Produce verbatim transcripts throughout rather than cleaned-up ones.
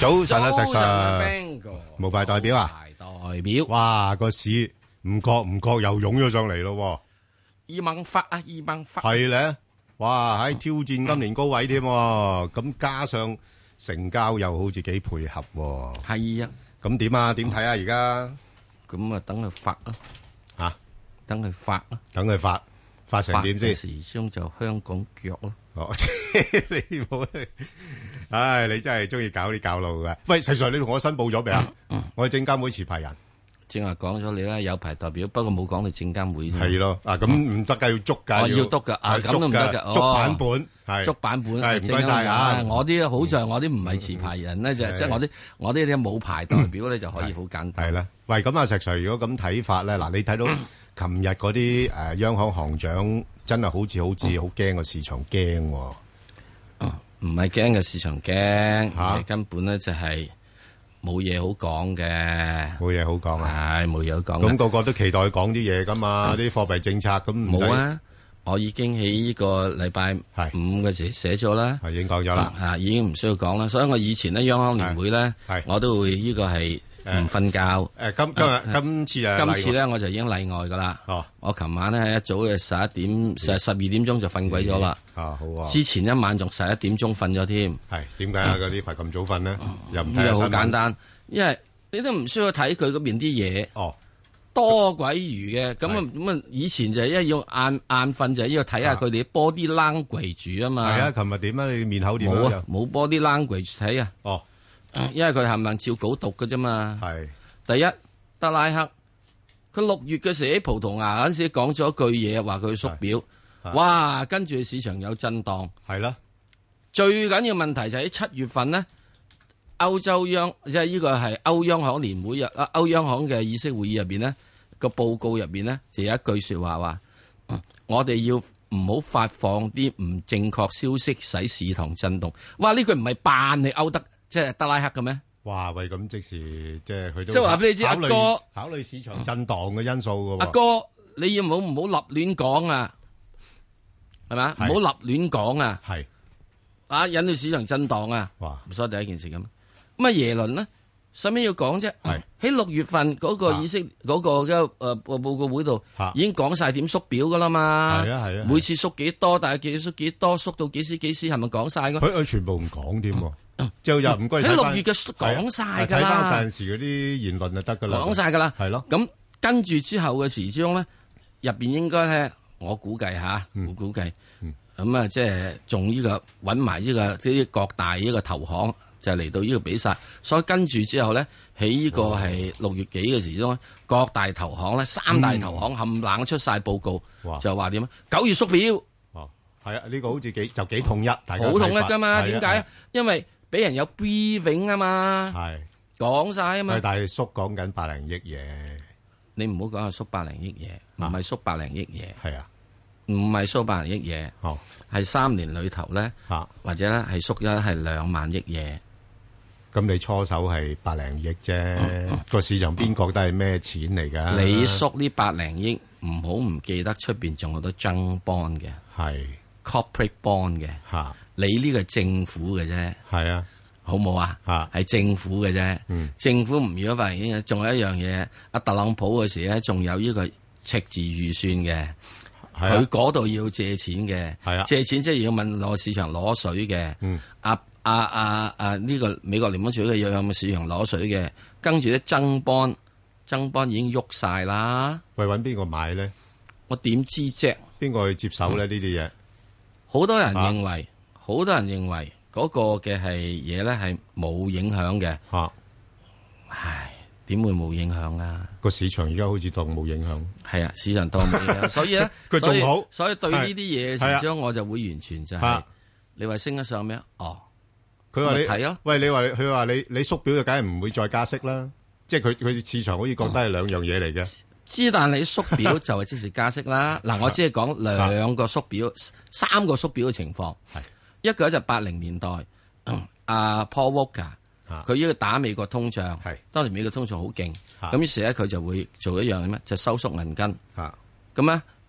早晨啊，石 Sir， Sir， 無牌代表啊， 代表， 哇個市唔覺唔覺又湧咗上嚟咯， 二萬發啊，二萬發， 係咧，哇喺挑戰今年高位添，咁加上成交又好似幾配合， 係啊， 咁點啊？點睇啊？而家咁啊，等佢發啊， 吓， 等佢發啊， 等佢發發成點先？ 時鐘就香港腳咯。 哦，你冇，唉，你真係中意搞啲搞路嘅。喂，石 Sir，你同我申報咗未啊？我係證監會持牌人。 正話講咗你啦，有牌代表，不過冇講你證監會啫。 係咯，啊咁唔得噶，要捉噶， 要督噶，啊咁都唔得噶， 捉版本係， 捉版本係唔該晒啊！ 我啲好在我啲唔係持牌人咧，就即係我啲我啲啲冇牌代表咧就可以好簡單。 係啦，喂，咁啊石 Sir，如果咁睇法咧，嗱，你睇到琴日嗰啲誒央行行長真係好似好似好驚個市場驚， 唔係驚嘅市場驚，嚇根本咧就係。冇嘢好講嘅， 冇嘢好講啊！ 係冇嘢好講。 咁個個都期待講啲嘢噶嘛，啲貨幣政策咁唔使。 冇啊！我已經喺呢個禮拜五嘅時寫咗啦， 係已經講咗啦， 啊已經唔需要講啦。所以我以前咧央行年會咧，我都會呢個係唔瞓覺。 誒今今日今次啊， 今次咧我就已經例外噶啦。 哦， 我琴晚咧一早嘅十一點，十十二點鐘就瞓鬼咗啦。 啊好啊！ 之前一晚仲十一點鐘瞓咗添。 係點解啊？嗰呢排咁早瞓咧？又唔睇新聞？ 好簡單，因為你都唔需要睇佢嗰邊啲嘢。 哦， 多鬼餘嘅，咁啊咁啊！以前就係因為要晏晏瞓，就係要睇下佢哋 body language 住啊嘛。 係啊，琴日點啊？你面口點冇啊？冇 body language 睇啊。 哦， 因為佢係咪照稿讀嘅啫嘛。 係第一，德拉克佢六月嘅時喺葡萄牙嗰陣時講咗一句嘢，話佢縮表，哇！跟住市場有震盪。 係啦， 最緊要問題就喺七月份呢。歐洲央即係呢個係歐央行年會日啊，歐央行嘅議息會議入邊呢個報告入邊呢，就有一句說話話，嗯、我哋要唔好發放啲唔正確消息，使市場震動。哇！呢句唔係扮你歐德即係德拉克嘅咩？哇！ 喂，咁即時即係佢都即係話俾你知，阿哥考慮市場震盪嘅因素嘅。 阿哥，你要唔好唔好立亂講啊？係咪？唔好立亂講啊！係啊，引到市場震盪啊！哇！所以第一件事咁。咁啊耶倫呢，使咩要講啫？喺六月份嗰個議息嗰個嘅誒報告會度，已經講晒點縮表噶啦嘛。係啊係啊，每次縮幾多，但係幾縮幾多，縮到幾時幾時，係咪講晒㗎？ 佢佢全部唔講添，就又唔該喺六月嘅講晒噶啦。 睇翻陣時嗰啲言論就得噶啦。 講晒噶啦， 係咯。 咁跟住之後嘅時鐘咧，入邊應該咧，我估計吓，我估計，咁啊，即係仲呢個搵埋呢個啲各大呢個投行。就嚟到呢個比賽，所以跟住之後咧，喺呢個係六月幾嘅時鐘，各大投行咧，三大投行冚冷、嗯、出晒報告，就話點啊？九月縮表， 哦，係啊，呢、這個好似幾就幾統一，大家好統一㗎嘛？點解啊？因為俾人有 briefing 啊嘛，係講晒啊嘛。 但係縮講緊百零億嘢， 你唔好講係縮百零億嘢，唔係縮百零億嘢， 係啊， 唔係縮百零億嘢，哦，係三年裏頭咧，啊，或者咧係縮咗係兩萬億嘢。 咁你初手係百零億啫，個市場邊覺得係咩錢嚟㗎？ 你縮呢百零億，唔好唔記得出邊仲有好多增 bond 嘅，係 corporate bond 嘅，嚇你呢個係政府嘅啫，係啊，好冇啊？嚇係政府嘅啫，嗯，政府唔如果百零億，仲有一樣嘢，阿特朗普嗰時咧，仲有呢個赤字預算嘅，佢嗰度要借錢嘅，係啊，借錢即係要問攞市場攞水嘅，嗯，阿。啊啊啊！呢、這個美國聯邦儲備要有冇市場攞水嘅，跟住啲增邦增邦已經喐晒啦。 喂，揾邊個買咧？ 我點知啫？ 邊個去接手咧？呢啲嘢好多人認為，好、啊、多人認為嗰個嘅係嘢咧係冇影響嘅。吓、啊，唉，點會冇影響啊？個市場而家好似當冇影響。 係啊，市場當冇影響，所以咧， 佢仲好。 所以對呢啲嘢嘅時候，我就會完全就係、是啊、你話升得上咩？哦。 佢話你睇啊，喂，你話佢話你你縮表就梗係唔會再加息啦，即係佢佢市場好似覺得係兩樣嘢嚟嘅。 之但你縮表就係即時加息啦。嗱，我只係講兩個縮表、三個縮表嘅情況。係一個就八零年代，阿 Paul Volcker 佢呢個打美國通脹，係當年美國通脹好勁，咁於是咧佢就會做一樣咩？就收縮銀根。咁咧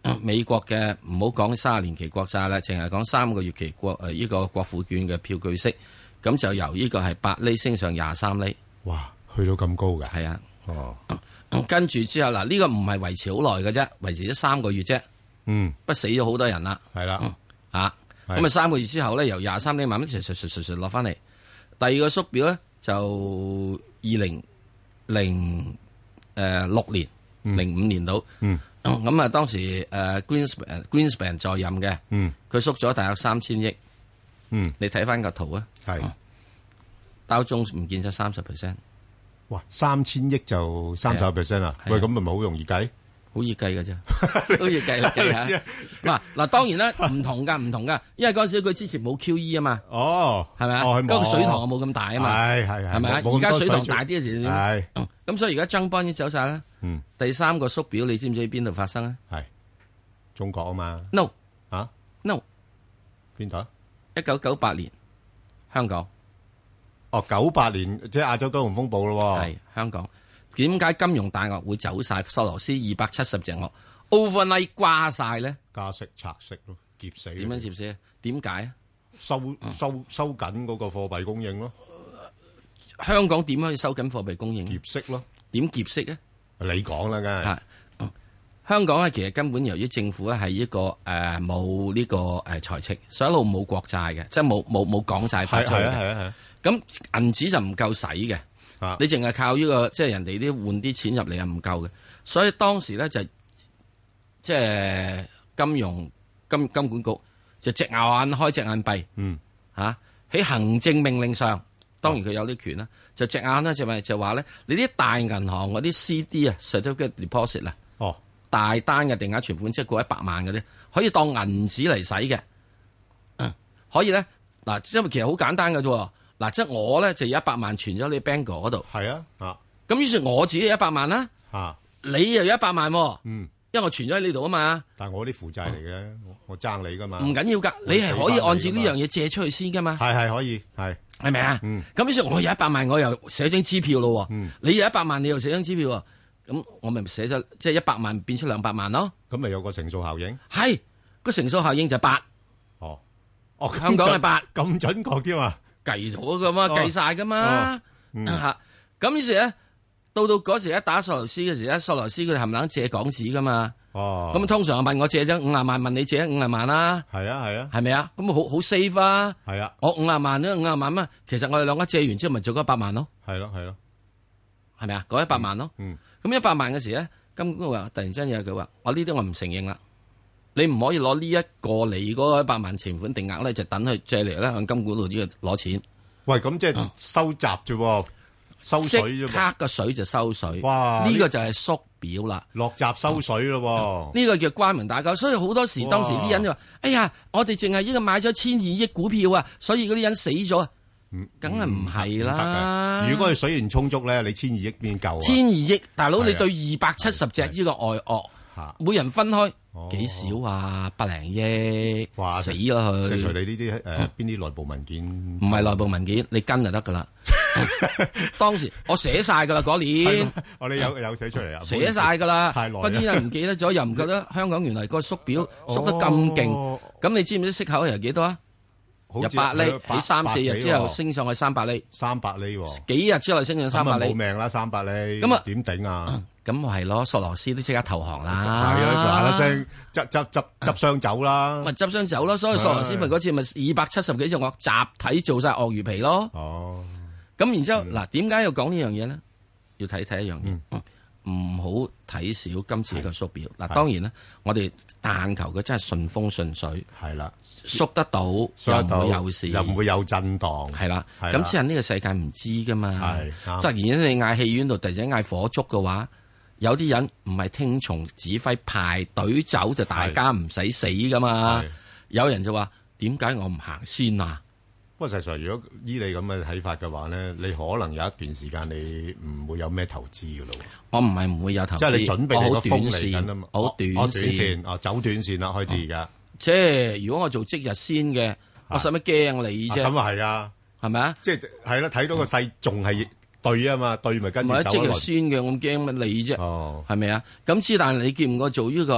美國嘅唔好講三十年期國債啦，淨係講三個月期國誒呢個國庫券嘅票據息，咁就由呢個係八厘升上廿三厘。 哇，去到咁高嘅？ 係啊。 哦。 嗯、跟住之後嗱，呢、這個唔係維持好耐嘅啫，維持咗三個月啫。 嗯。 不死咗好多人啦。 係啦。 嗯、啊。咁啊，三個月之後咧，由廿三厘慢慢隨隨隨隨隨落翻嚟。第二個縮表咧就二零零誒六年零五、嗯、年度。嗯。咁啊，當時誒 Greenspan Greenspan 在任嘅，佢縮咗大約三千億。嗯，你睇翻個圖啊，係道瓊唔見咗三十 percent。 哇，三千億就三十 percent 啊？喂，咁咪咪好容易計？ 好易計㗎啫，好易計啦計下。嗱嗱，當然啦，唔同噶，唔同噶，因為嗰陣時佢之前冇 Q E 啊嘛。哦，係咪啊？嗰個水塘冇咁大啊嘛。係係係，係咪啊？而家水塘大啲嘅時點？係。咁所以而家增邦已經走晒啦。嗯。第三個縮表，你知唔知喺邊度發生啊？係中國啊嘛。 No。 啊 ？No。 邊度？ 一九九八年，香港。 哦，九八年即係亞洲金融風暴咯。 係香港。點解金融大鱷會走晒？索羅斯二百七十隻鱷 overnight 瓜晒咧？ 加息拆息咯，劫死。 點樣劫死啊？點解啊？ 收收收緊嗰個貨幣供應咯。 香港點可以收緊貨幣供應？ 劫息咯。 點劫息咧？ 你講啦，梗係。 嗯、香港咧，其實根本由於政府咧係一個誒冇呢個誒財赤，所以一路冇國債嘅，即係冇冇冇港債發出嘅。係啊係啊係啊。咁銀紙就唔夠使嘅。啊、你淨係靠呢、這個即係人哋啲換啲錢入嚟係唔夠嘅，所以當時咧就即係金融金金管局就隻眼開隻眼閉，嗯吓喺、啊、行政命令上，當然佢有啲權啦，就隻眼咧就咪就話咧，你啲大銀行嗰啲 C D 啊 certificate deposit 啊，哦大單嘅定額存款即係過一百萬嗰啲，可以當銀紙嚟使嘅，嗯可以咧嗱，因為其實好簡單嘅啫。嗱，即係我咧就有一百萬存咗你 Bangor 嗰度，係啊，啊，咁於是我自己有一百萬啦，吓，你又有一百萬，嗯，因為我存咗喺呢度啊嘛，但係我啲負債嚟嘅，我爭你噶嘛，唔緊要噶，你係可以按照呢樣嘢借出去先噶嘛，係係可以，係係咪啊？咁於是我有一百萬，我又寫張支票咯，你有一百萬，你又寫張支票，咁我咪寫咗即係一百萬變出兩百萬咯，咁咪有個乘數效應，係個乘數效應就八，哦，哦，香港係八，咁準確添啊！計咗噶嘛，計晒噶嘛，吓咁於是咧，到到嗰時一打索羅斯嘅時咧，索羅斯佢哋冚唪唥借港紙噶嘛，哦，咁通常問我借咗五廿萬，問你借五廿萬啦，係啊係啊，係咪啊？咁好好 safe 啊，係啊，我五廿萬咧，五廿萬嘛，其實我哋兩個借完之後咪做咗一百萬咯，係咯係咯，係咪啊？嗰一百萬咯，嗯，咁一百萬嘅時咧，金管局話突然之間有佢話，我呢啲我唔承認啦。你唔可以攞呢一個你嗰一百萬存款定額咧，就等佢借嚟咧向金管局呢個攞錢。喂，咁即係收集啫，收水啫。即刻個水就收水。哇！呢個就係縮表啦，落閘收水咯。呢個叫關門打狗。所以好多時當時啲人就話：哎呀，我哋淨係呢個買咗千二億股票啊，所以嗰啲人死咗。嗯，梗係唔係啦。如果佢水源充足咧，你千二億邊夠啊？千二億，大佬你對二百七十隻呢個外鱷，每人分開。幾少啊？百零億，死啦佢！即係你呢啲誒，邊啲內部文件？唔係內部文件，你跟就得噶啦。當時我寫晒噶啦嗰年，我哋有有寫出嚟啊，寫晒噶啦。太耐，嗰啲人唔記得咗，又唔覺得香港原來個縮表縮得咁勁。咁你知唔知息口係幾多啊？由八厘喺三四日之後升上去三百厘，三百厘，幾日之後升上三百厘，冇命啦三百厘，咁啊點頂啊？咁咪係咯，索羅斯都即刻投降啦，係啊，嗱嗱聲執執執執箱走啦，咪執箱走咯。所以索羅斯咪嗰次咪二百七十幾隻鱷集體做晒鱷魚皮咯。哦，咁然之後嗱，點解要講呢樣嘢咧？要睇睇一樣嘢，唔好睇少今次嘅縮表。嗱，當然啦，我哋但求佢真係順風順水，係啦，縮得到又唔會有事，又唔會有震盪，係啦。咁只係呢個世界唔知噶嘛，係突然間你嗌戲院度突然間嗌火燭嘅話。有啲人唔係聽從指揮排隊走就大家唔使死噶嘛，有人就話點解我唔行先啊？不過實際上，如果依你咁嘅睇法嘅話咧，你可能有一段時間你唔會有咩投資噶咯。我唔係唔會有投資，即係你準備你個風嚟緊啊嘛，好短線，哦走短線啦，開始而家。即係如果我做即日先嘅，我使乜驚你啫？咁啊係啊，係咪啊？即係係啦，睇到個勢仲係。對啊嘛，對咪跟住走咯。唔係即係先嘅，我驚乜你啫？哦，係咪啊？咁之但你見唔過做呢個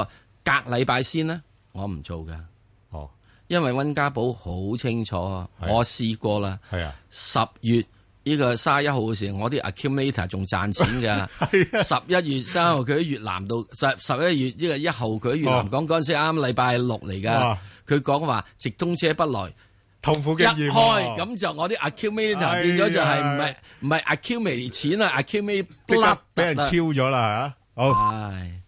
隔禮拜先咧，我唔做噶。 哦， 因為溫家寶好清楚，我試過啦。 係啊， 十月呢個三十一號嘅時候，我啲 accumulator 仲賺錢噶。十一月三號佢喺越南度，十十一月呢個一號佢喺越南講嗰陣時啱禮拜六嚟噶。佢講話直通車不來。 痛苦經驗， 一開咁就我啲 accumulator 變咗就係唔係唔係 accumulate 錢啊 accumulate blood 俾人 Q 咗啦吓，好。 唉，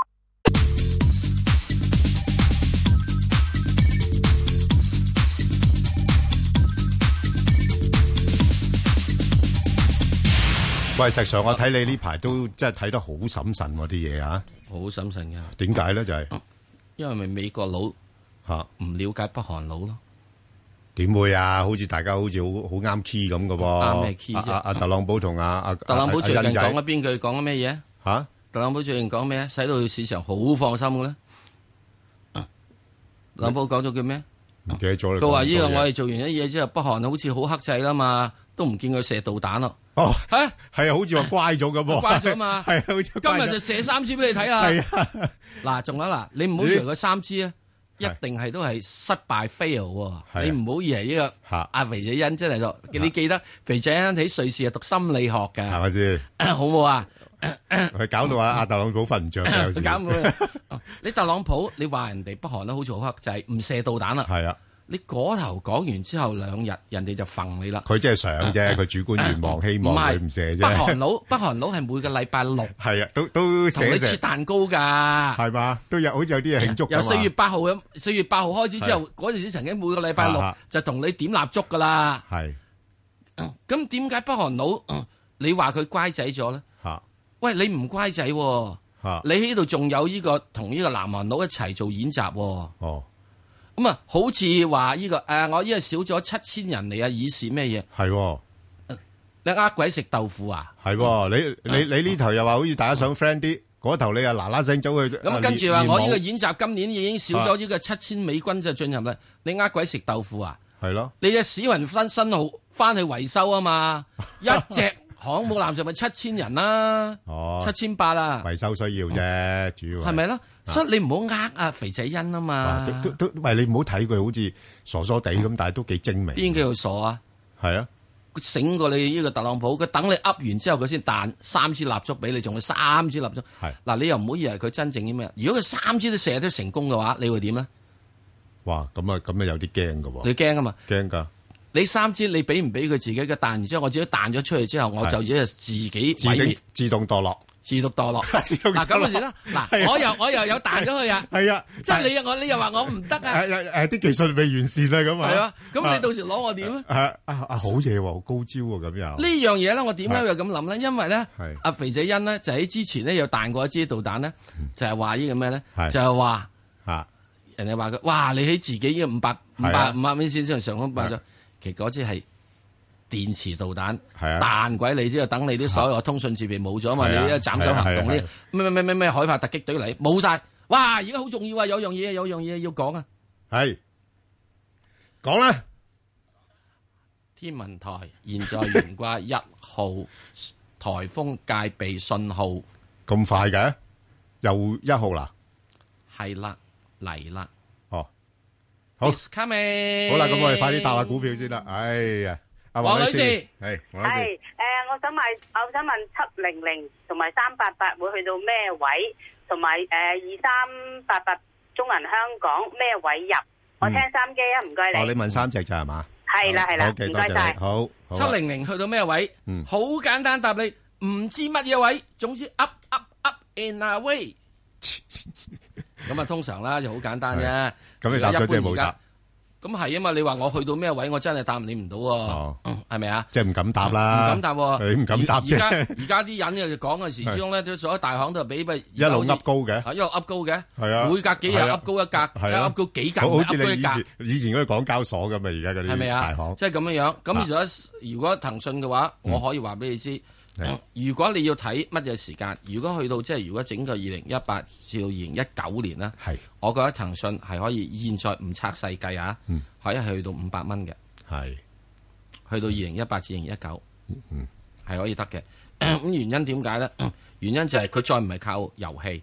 喂，石 Sir，我睇你呢排都真係睇得好審慎喎啲嘢啊， 好審慎噶。 點解咧？就係因為咪美國佬吓唔了解北韓佬咯。 點會啊？好似大家好似好好啱 key 咁嘅喎。 啱咩 key 啫？ 阿阿特朗普同阿阿特朗普最近講咗邊句？講咗咩嘢？ 吓？ 特朗普最近講咩？使到市場好放心嘅咧。特朗普講咗句咩？ 唔記得咗啦。 佢話呢個我哋做完一嘢之後，北韓好似好克制啦嘛，都唔見佢射導彈咯。 哦， 吓係啊，好似話乖咗咁喎。 乖咗嘛？係啊，好似今日就射三支俾你睇啊。 係啊。嗱， 仲有嗱，你唔好以為佢三支啊。一定係都係失敗 fail，你唔好以為呢個阿肥仔欣真係做，你記得肥仔欣喺瑞士係讀心理學嘅，係咪先？ 好冇啊？ 佢搞到阿阿特朗普瞓唔着嘅有時。 搞唔你特朗普，你話人哋北韓咧好似好克制，唔射導彈啦。 係啊。 你嗰頭講完之後兩日，人哋就揈你啦。 佢真係想啫，佢主觀願望希望佢唔射啫。 北韓佬，北韓佬係每個禮拜六係啊，都都同你切蛋糕㗎，係嘛？都有好似有啲嘢慶祝㗎嘛。 由四月八號咁，四月八號開始之後，嗰陣時曾經每個禮拜六就同你點蠟燭㗎啦。係。咁點解北韓佬你話佢乖仔咗咧？嚇！喂，你唔乖仔喎，你喺度仲有呢個同呢個南韓佬一齊做演習喎。哦。咁啊，好似話呢個誒，我依家少咗七千人嚟啊，以示咩嘢？係，你呃鬼食豆腐啊？係， 你你你呢頭又話好似大家想 friend 啲，嗰頭你又嗱嗱聲走去。 咁跟住話我呢個演習今年已經少咗呢個七千美軍就進入啦，你呃鬼食豆腐啊？係咯，你隻史雲芬新號翻去維修啊嘛，一隻航母艦上咪七千人啦，七千八啦， 維修需要啫，主要係咪咯？所以你唔好呃啊肥仔欣啊嘛， 都都都，喂，你唔好睇佢好似傻傻地咁，但係都幾精明。 邊叫佢傻啊？係啊，佢醒過你呢個特朗普，佢等你噏完之後，佢先彈三支蠟燭俾你，仲有三支蠟燭。係嗱，你又唔好以為佢真正啲咩？如果佢三支都射得成功嘅話，你會點咧？哇，咁啊，咁啊有啲驚噶喎。你驚啊嘛？驚噶。你三支你俾唔俾佢自己嘅彈完之後，我自己彈咗出去之後，我就只係自己毀滅，自動墮落。自動墮落，嗱咁嘅事啦。嗱，我又我又有彈咗佢啊。係啊，即係你又我你又話我唔得啊。誒誒，啲技術未完善啊，咁啊。係啊，咁你到時攞我點啊？啊啊好嘢喎，好高招喎，咁又。呢樣嘢咧，我點解又咁諗咧？因為咧，阿肥仔欣咧就喺之前咧有彈過一支導彈咧，就係話呢個咩咧？就係話嚇人哋話佢，哇！你喺自己呢個五百五百五百米線上上空爆咗，其實嗰支係電磁導彈，彈鬼你之後，等你啲所有通訊設備冇咗嘛？你一斬首行動呢？咩咩咩咩咩海豹突擊隊嚟冇晒，哇！而家好重要啊！有樣嘢，有樣嘢要講啊！係講啦，天文台現在懸掛一號颱風戒備信號，咁快嘅又一號啦，係啦嚟啦，哦，好 It's coming，好啦，咁我哋快啲答下股票先啦，哎呀！黃女士，係，係，誒，我想買，我想問七零零同埋三八八會去到咩位，同埋誒二三八八中銀香港咩位入？我聽三機啊，唔該你。哦，你問三隻咋係嘛？係啦係啦，唔該晒。好，七零零去到咩位？嗯，好簡單答你，唔知乜嘢位，總之 up up up and away。咁啊，通常啦就好簡單啫。咁你答咗即係冇答。咁係啊嘛，你話我去到咩位，我真係答你唔到喎，係咪啊？即係唔敢答啦，唔敢答，你唔敢答啫。而家而家啲人就講嘅時鐘咧，都所有大行都係俾咪一路噏高嘅，一路噏高嘅，係啊，每隔幾日噏高一格，噏高幾格，好似你以前以前嗰啲港交所咁啊，而家嗰啲大行，即係咁樣樣。咁如果如果騰訊嘅話，我可以話俾你知。如果你要睇乜嘢時間，如果去到即係如果整個二零一八至到二零一九年啦，係，我覺得騰訊係可以現在唔拆細計啊，嗯、可以去到五百蚊嘅，係，去到二零一八至二零一九，嗯，係可以得嘅。咁原因點解咧？原因就係佢再唔係靠遊戲，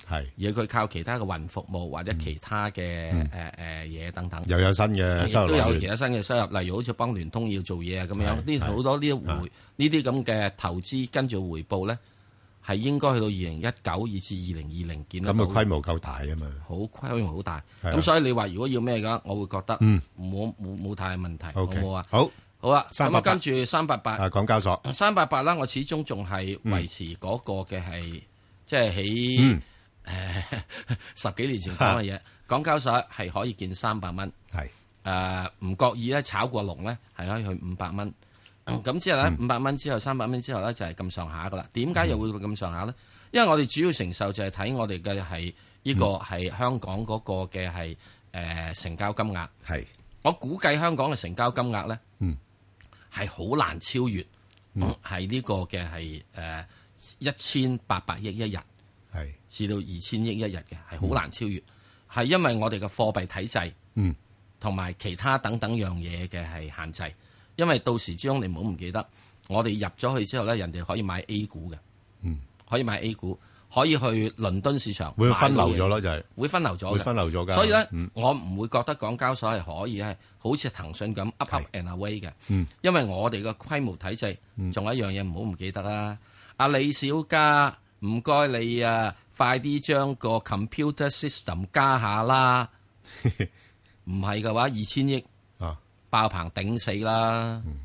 係而佢靠其他嘅雲服務或者其他嘅誒誒嘢等等， 又有新嘅收入， 都有其他新嘅收入，例如好似幫聯通要做嘢啊咁樣，呢好多呢回呢啲咁嘅投資跟住回報咧，係應該去到二零一九以至二零二零見到。 咁嘅規模夠大啊嘛， 好規模好大，咁所以你話如果要咩嘅話，我會覺得冇冇冇太問題，好冇啊？ 好。 好啦，咁啊，跟住三八八， 啊，港交所三八八啦，我始終仲係維持嗰個嘅係，即係喺誒十幾年前講嘅嘢，港交所係可以見三百蚊， 係誒唔覺意咧炒過龍咧，係可以去五百蚊，咁之後咧五百蚊之後三百蚊之後咧就係咁上下噶啦。點解又會咁上下咧？因為我哋主要承受就係睇我哋嘅係呢個係香港嗰個嘅係誒成交金額，係我估計香港嘅成交金額咧，嗯。係好難超越，係呢、嗯、個嘅係誒一千八百億一日，係至到二千億一日嘅，係好難超越。係、嗯、因為我哋嘅貨幣體制，嗯，同埋其他等等樣嘢嘅係限制。因為到時之中你唔好唔記得，我哋入咗去之後咧，人哋可以買 A 股嘅，嗯，可以買 A 股，可以去倫敦市場會分流咗咯，就係會分流咗， 會分流咗㗎。 所以咧，嗯、我唔會覺得港交所係可以係好似騰訊咁 up up and away 嘅，嗯、因為我哋嘅規模體制，仲、嗯、有一樣嘢唔好唔記得啦。阿李小加，唔該你啊，快啲將個 computer system 加下啦。唔係嘅話，二千億啊，爆棚頂死啦。嗯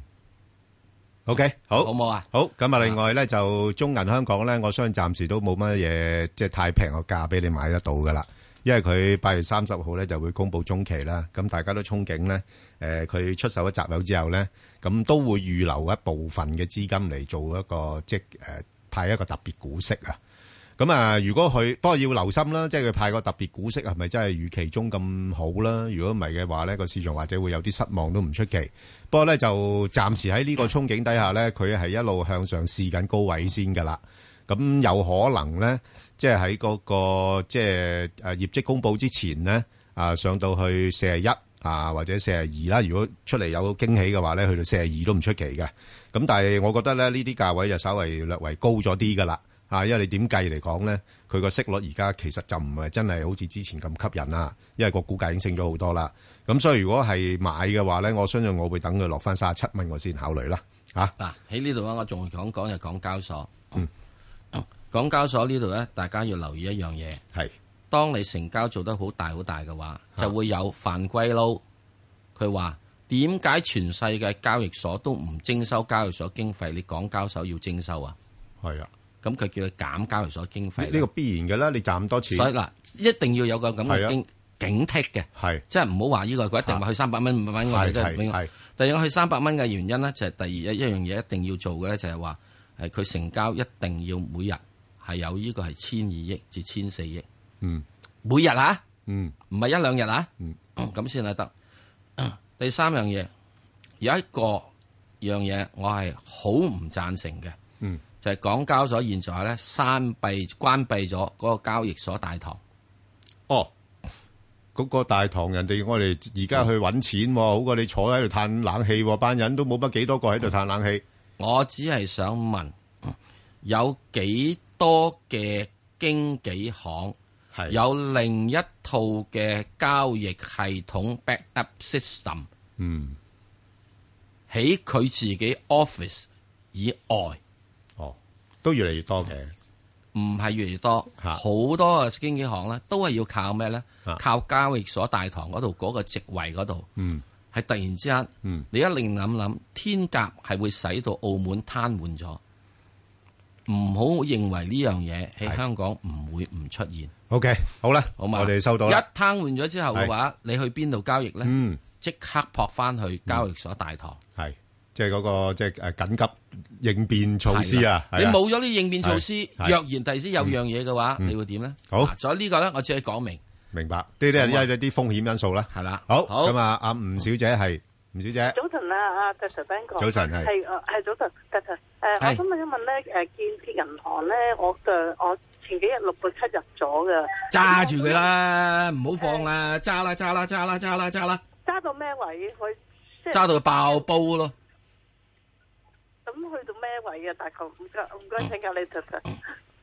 ，OK， 好，好冇啊？好，咁啊，另外咧就中銀香港咧，我相信暫時都冇乜嘢，即係太平個價俾你買得到噶啦。因為佢八月三十號咧就會公布中期啦，咁大家都憧憬咧，誒，佢出售咗集友之後咧，咁都會預留一部分嘅資金嚟做一個即係誒派一個特別股息啊。咁啊，如果佢不過要留心啦，即係佢派個特別股息係咪真係預期中咁好啦？如果唔係嘅話咧，個市場或者會有啲失望都唔出奇。不過咧就暫時喺呢個憧憬底下咧，佢係一路向上試緊高位先噶啦。咁有可能咧，即係喺嗰個即係誒業績公布之前咧，啊上到去四十一啊或者四十二啦。如果出嚟有驚喜嘅話咧，去到四十二都唔出奇嘅。咁但係我覺得咧，呢啲價位就稍微略為高咗啲噶啦。啊，因為你點計嚟講咧，佢個息率而家其實就唔係真係好似之前咁吸引啦，因為個股價已經升咗好多啦。咁所以如果係買嘅話咧，我相信我會等佢落翻三十七蚊，我先考慮啦。嚇嗱，喺呢度咧，我仲講講就港交所。嗯，港交所呢度咧，大家要留意一樣嘢。係，當你成交做得好大好大嘅話，就會有犯規撈。佢話點解全世界交易所都唔徵收交易所經費，你港交所要徵收啊？係啊。咁佢叫佢減交易所經費，呢個必然嘅啦。你賺咁多錢，所以嗱，一定要有個咁嘅警警惕嘅，係即係唔好話呢個佢一定話去三百蚊、五百蚊，我哋真係永遠。第二，我去三百蚊嘅原因咧，就係第二一一樣嘢一定要做嘅咧，就係話係佢成交一定要每日係有呢個係千二億至千四億，嗯，每日啊，嗯，唔係一兩日啊，嗯，咁先係得。第三樣嘢有一個樣嘢，我係好唔贊成嘅，嗯。就係港交所現在咧關閉關閉咗嗰個交易所大堂。哦，嗰個大堂人哋我哋而家去揾錢，好過你坐喺度嘆冷氣，班人都冇乜幾多個喺度嘆冷氣。我只係想問，有幾多嘅經紀行係有另一套嘅交易系統 backup system？嗯，喺佢自己 office 以外。都越嚟越多嘅，唔係越嚟越多，好多嘅經紀行咧，都係要靠咩咧？靠交易所大堂嗰度嗰個席位嗰度，嗯，係突然之間，嗯，你一定諗諗，天鴿係會使到澳門癱瘓咗，唔好認為呢樣嘢喺香港唔會唔出現。OK， 好啦，好嘛，我哋收到啦。一癱瘓咗之後嘅話，你去邊度交易咧？嗯，即刻撲翻去交易所大堂。係。即係嗰個即係誒緊急應變措施啊！你冇咗啲應變措施，若然第時有樣嘢嘅話，你會點咧？好，所以呢個咧，我只係講明。明白，呢啲係一啲風險因素啦。係啦，好，咁啊，阿吳小姐係吳小姐。早晨啊，阿 Doctor Ben 哥。早晨係。係誒係早晨 Doctor 誒，我想問一問咧誒，建設銀行咧，我嘅我前幾日六個七入咗嘅。揸住佢啦，唔好放啦，揸啦揸啦揸啦揸啦揸啦。揸到咩位？佢揸到爆煲咯。咁去到咩位啊？大概唔該唔該請教你，唔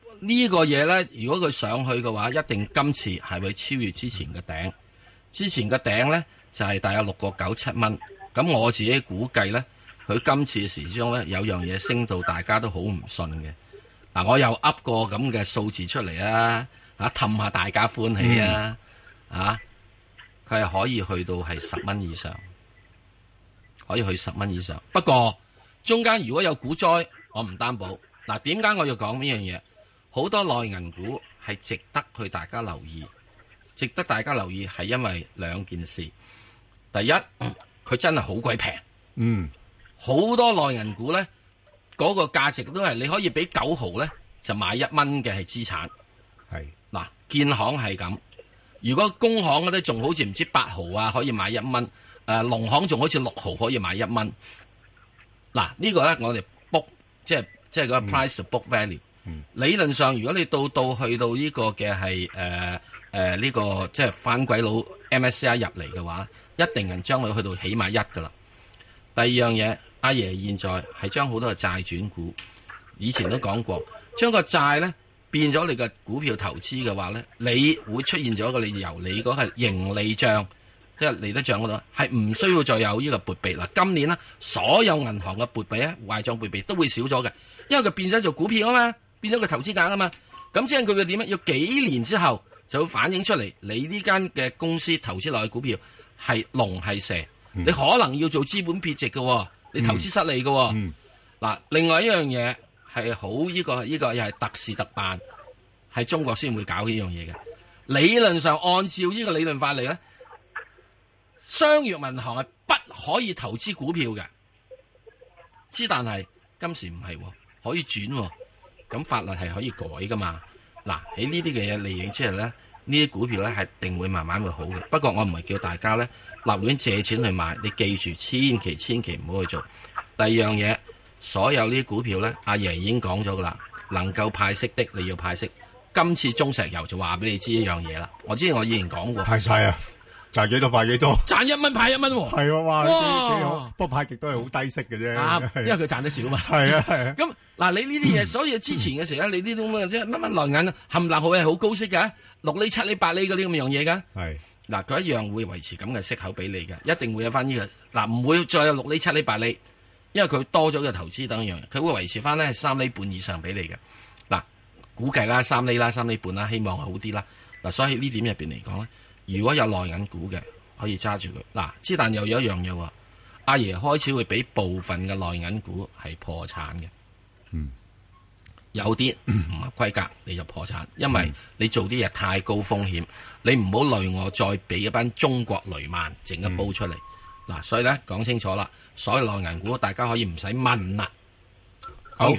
呢個嘢咧，如果佢上去嘅話，一定今次係會超越之前嘅頂。之前嘅頂咧就係、是、大約六個九七蚊。咁我自己估計咧，佢今次時鐘咧有樣嘢升到大家都好唔信嘅。嗱，我又噏個咁嘅數字出嚟啊，嚇氹下大家歡喜啊，啊，佢係可以去到係十蚊以上，可以去十蚊以上。不過中間如果有股災，我唔擔保。嗱，點解我要講呢樣嘢？好多內銀股係值得去大家留意，值得大家留意係因為兩件事。第一，佢、嗯、真係好鬼平，嗯，好多內銀股咧，嗰、那個價值都係你可以俾九毫咧就買一蚊嘅係資產。係嗱，建行係咁，如果工行嗰啲仲好似唔知八毫啊，可以買一蚊。誒、呃，農行仲好似六毫可以買一蚊。嗱，這個、呢個咧我哋 book 即係即係嗰個 price to book value。嗯、理論上，如果你到到去到呢個嘅係誒誒呢個即係翻鬼佬 M S C I 入嚟嘅話，一定係將佢去到起碼一噶啦。第二樣嘢，阿爺現在係將好多嘅債轉股，以前都講過，將個債咧變咗你嘅股票投資嘅話咧，你會出現咗一個你由你嗰個盈利帳，即係利得帳嗰度，係唔需要再有呢個撥備啦。今年呢，所有銀行嘅撥備咧，壞帳撥備都會少咗嘅，因為佢變咗做股票啊嘛。變咗個投資額啊嘛，咁即係佢嘅點啊？要幾年之後就會反映出嚟，你呢間嘅公司投資落去股票係龍係蛇，嗯、你可能要做資本撇值嘅，你投資失利嘅。嗱、嗯嗯，另外一樣嘢係好呢個呢、這個又係特事特辦，係中國先會搞呢樣嘢嘅。理論上按照呢個理論法嚟咧，商業銀行係不可以投資股票嘅，之但係今時唔係，可以轉。咁法律係可以改噶嘛？嗱，喺呢啲嘅嘢利益之後咧，呢啲股票咧係定會慢慢會好嘅。不過我唔係叫大家咧立亂借錢去買，你記住千祈千祈唔好去做。第二樣嘢，所有呢啲股票咧，阿爺已經講咗噶啦，能夠派息的你要派息。今次中石油就話俾你知一樣嘢啦。我之前我以前講過， 派晒啊！賺幾多派幾多， 賺一蚊派一蚊喎。 係喎，哇！幾好，不過派極都係好低息嘅啫。 啊，因為佢賺得少嘛。 係啊係啊。 咁嗱，你呢啲嘢，所以之前嘅時候咧，你呢啲咁嘅即係乜乜內銀冚唪唥好係好高息嘅，六厘七厘八厘嗰啲咁樣嘢㗎。係。嗱，佢一樣會維持咁嘅息口俾你嘅，一定會有翻呢個。嗱，唔會再有六厘七厘八厘，因為佢多咗嘅投資等樣，佢會維持翻咧係三厘半以上俾你嘅。嗱，估計啦，三厘啦，三厘半啦，希望好啲啦。嗱，所以呢點入邊嚟講咧。如果有內銀股嘅，可以揸住佢。嗱，之但又有一樣嘢喎，阿爺開始會俾部分嘅內銀股係破產嘅。嗯，有啲唔合規格你就破產，因為你做啲嘢太高風險，你唔好累我再俾一班中國雷曼整一煲出嚟。嗱、嗯，所以咧講清楚啦，所有內銀股大家可以唔使問啦。 好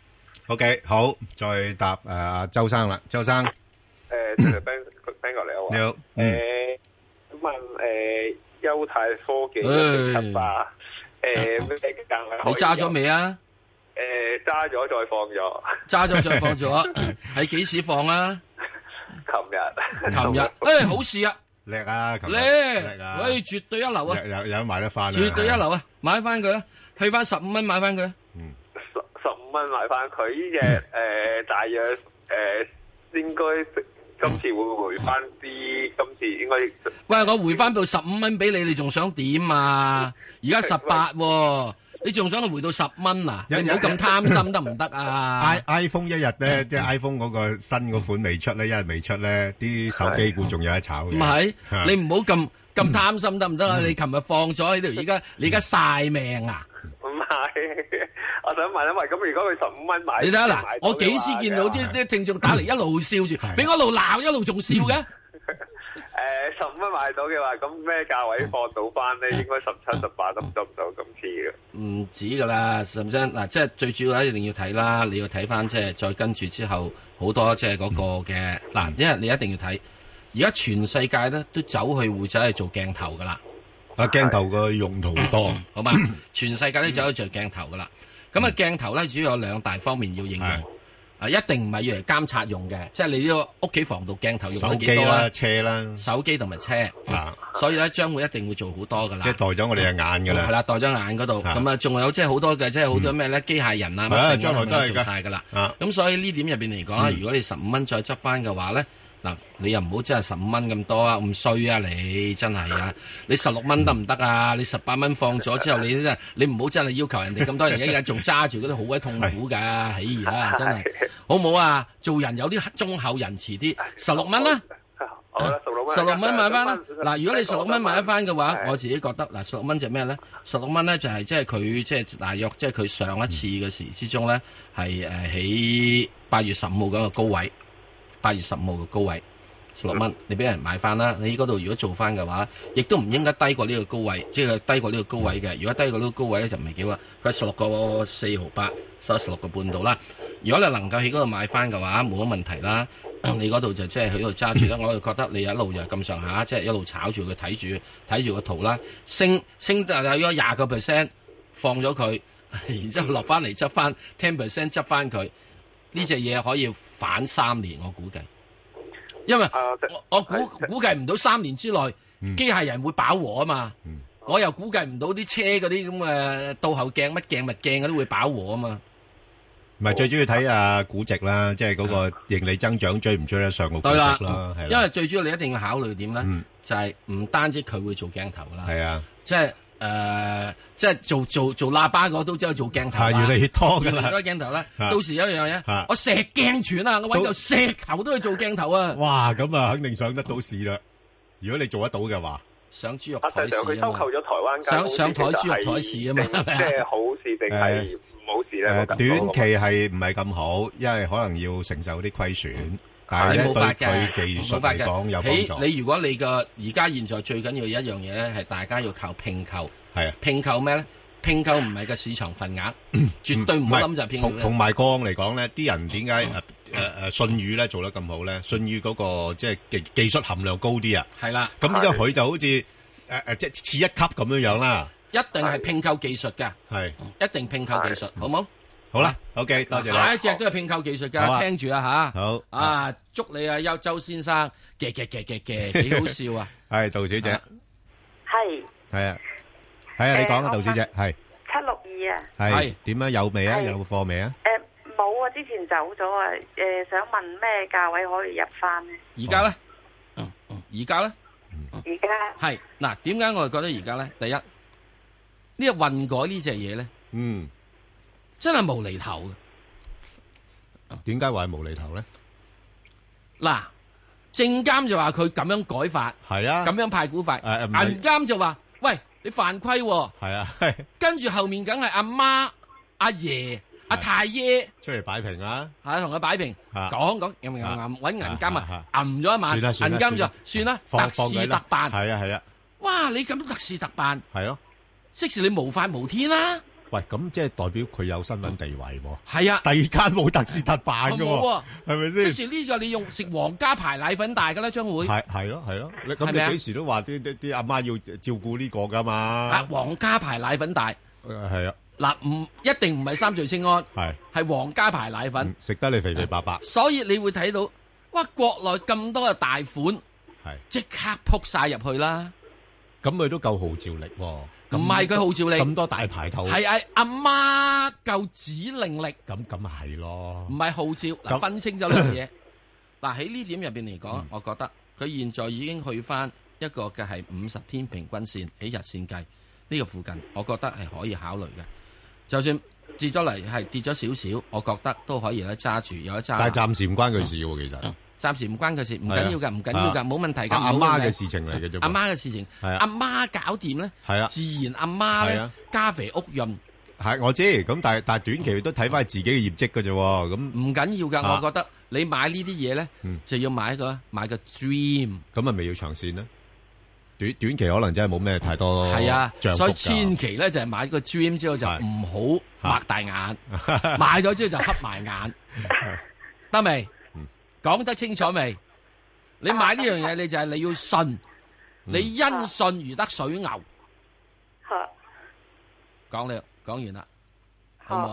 ，OK， 好，再答誒阿、呃、周生啦，周生。誒、 呃，聽過你好啊！ 你好， 誒問誒優泰科技一七八誒咩價位？ 你揸咗未啊？ 誒揸咗再放咗， 揸咗再放咗，喺幾時放啊？ 琴日， 琴日誒好事啊！ 叻啊！ 叻叻啊！誒絕對一流啊！ 有有買得翻， 絕對一流啊！買翻佢啦，去翻十五蚊買翻佢。 嗯，十十五蚊買翻佢呢隻誒大約誒應該。今次會唔會回翻啲？今次應該喂，我回翻到十五蚊俾你，你仲想點啊？而家十八喎，你仲想佢回到十蚊啊？你唔好咁貪心得唔得啊 ？i iPhone 一日咧，即係 iPhone 嗰個新嗰款未出咧，一日未出咧，啲手機股仲有得炒嘅。 唔係，你唔好咁咁貪心得唔得啊？你琴日放咗喺度，而家你而家晒命啊！ 唔係。我想問一問，咁如果佢十五蚊買， 你睇下嗱，我幾時見到啲啲聽眾打嚟一路笑住，俾我一路鬧一路仲笑嘅？誒， 十五蚊買到嘅話，咁咩價位放到翻咧？應該十七、十八得唔得唔到今次嘅？ 唔止噶啦，甚至嗱，即係最主要咧，一定要睇啦。你要睇翻即係再跟住之後好多即係嗰個嘅嗱，因為你一定要睇。而家全世界咧都走去會走去做鏡頭噶啦。 啊，鏡頭個用途多， 好嘛？全世界都走去做鏡頭噶啦。咁啊，鏡頭咧主要有兩大方面要應用。 啊，一定唔係要嚟監察用嘅，即係你呢個屋企防盜鏡頭用咗幾多手機啦、車啦， 手機同埋車啊，所以咧將會一定會做好多噶啦。 即係代咗我哋嘅眼噶啦。 係啦，代咗眼嗰度，咁啊，仲有即係好多嘅，即係好多咩咧？機械人啊，乜將來都係做晒噶啦。咁所以呢點入邊嚟講，如果你十五蚊再執翻嘅話咧。嗱，你又唔好真係十五蚊咁多啊，咁衰啊你真係啊！你十六蚊得唔得啊？你十八蚊放咗之後，你真係你唔好真係要求人哋咁多人一日仲揸住嗰啲好鬼痛苦㗎，哎呀真係好唔好啊？做人有啲忠厚仁慈啲，十六蚊啦， 十六蚊， 十六蚊買翻啦。嗱，如果你十六蚊買得翻嘅話，我自己覺得嗱，十六蚊就咩咧？十六蚊咧就係即係佢即係大約即係佢上一次嘅時之中咧係誒喺八月十五號嗰個高位。八月十五號嘅高位十六蚊，你俾人買翻啦。你嗰度如果做翻嘅話，亦都唔應該低過呢個高位，即係低過呢個高位嘅。如果低過呢個高位咧，就唔係幾好啊。佢係十六個四毫八，收十六個半度啦。如果你能夠喺嗰度買翻嘅話，冇乜問題啦。你嗰度就即係喺度揸住啦。我就覺得你一路就咁上下，即係一路炒住佢，睇住睇住個圖啦。升升就有咗廿個 percent，放咗佢，然之後落翻嚟執翻 ten percent 執翻佢。呢隻嘢可以反三年，我估計，因為我我估估計唔到三年之內機械人會飽和啊嘛，我又估計唔到啲車嗰啲咁嘅倒後鏡乜鏡物鏡嗰啲會飽和啊嘛。 唔係最主要睇下估值啦，即係嗰個盈利增長追唔追得上個估值啦，係啦。 因為最主要你一定要考慮點咧，就係唔單止佢會做鏡頭啦， 係啊， 即係。誒、呃，即係做做做喇叭嗰都即係做鏡頭啦， 越嚟越多噶啦， 越嚟越多鏡頭啦。到時有一樣嘢，我石鏡泉啊，我揾嚿石頭都去做鏡頭啊！ 哇，咁啊，肯定上得到市啦。如果你做得到嘅話， 上豬肉台市啊嘛， 收購咗台灣上上台豬肉台市啊嘛， 即係好事定係唔好事咧？ 誒，短期係唔係咁好，因為可能要承受啲虧損。但係咧，對佢技術嚟講有幫助。 你如果你個而家現在最緊要一樣嘢咧，係大家要靠併購。 係啊， 併購咩咧？併購唔係個市場份額，絕對唔好諗就係併購。 同同埋過往嚟講咧，啲人點解誒誒誒信譽咧做得咁好咧？信譽嗰個即係技技術含量高啲啊。 係啦。 咁之後佢就好似誒誒即係次一級咁樣樣啦。 一定係併購技術㗎。係。一定併購技術，好冇？ 好啦 ，OK，多謝你。 下一隻都係併購技術噶，聽住啊吓。 好啊，祝你啊，邱周先生嘅嘅嘅嘅嘅，幾好笑啊！ 係杜小姐， 係係啊，係啊，你講啊，杜小姐，係七六二啊， 係點啊？有未啊？有貨未啊？ 誒，冇啊，之前走咗啊。誒，想問咩價位可以入翻呢？ 而家咧，嗯嗯，而家咧， 而家係嗱，點解我哋覺得而家咧？第一，呢個運改呢隻嘢咧， 嗯。 真係無厘頭嘅， 點解話係無厘頭咧？ 嗱，證監就話佢咁樣改法， 係啊， 咁樣派股法， 誒銀監就話，喂，你犯規， 係啊， 跟住後面梗係阿媽、阿爺、阿太爺出嚟擺平啦， 係同佢擺平，講講，揞揞揞，搵銀監啊，揞咗一晚，銀監就算啦，特事特辦， 係啊係啊， 哇，你咁特事特辦， 係咯， 即時你無法無天啦。 喂，咁即係代表佢有身份地位喎。 係啊， 第二間冇特事特辦嘅喎，係咪先？ 即是呢個你用食皇家牌奶粉大㗎啦，將會係係咯係咯。你咁你幾時都話啲啲啲阿媽要照顧呢個㗎嘛？ 啊，皇家牌奶粉大。 係啊。 嗱，唔一定唔係三聚氰胺， 係係皇家牌奶粉， 食得你肥肥白白。 所以你會睇到，哇！國內咁多嘅大款， 係即刻撲晒入去啦。 咁佢都夠號召力喎。 唔係佢號召力， 咁多大牌頭， 係係阿媽夠指令力， 咁咁係咯， 唔係號召嗱，分清咗呢樣嘢。嗱喺呢點入邊嚟講，我覺得佢現在已經去翻一個嘅係五十天平均線喺日線計呢個附近，我覺得係可以考慮嘅。就算跌咗嚟係跌咗少少，我覺得都可以咧揸住有一揸。 但係暫時唔關佢事喎，其實。 暫時唔關佢事，唔緊要㗎，唔緊要㗎，冇問題㗎。 阿媽嘅事情嚟嘅啫。 阿媽嘅事情，阿媽搞掂咧，自然阿媽咧家肥屋潤。 係我知，咁但係但係短期都睇翻自己嘅業績㗎啫。咁唔緊要㗎，我覺得你買呢啲嘢咧，就要買一個買個 dream。 咁係咪要長線咧？短短期可能真係冇咩太多。 係啊，所以千祈咧就係買個 dream 之後就唔好擘大眼，買咗之後就黑埋眼，得未？講得清楚未？你買呢樣嘢，你就係你要信，你因信如得水牛。講了，講完啦，好唔好啊？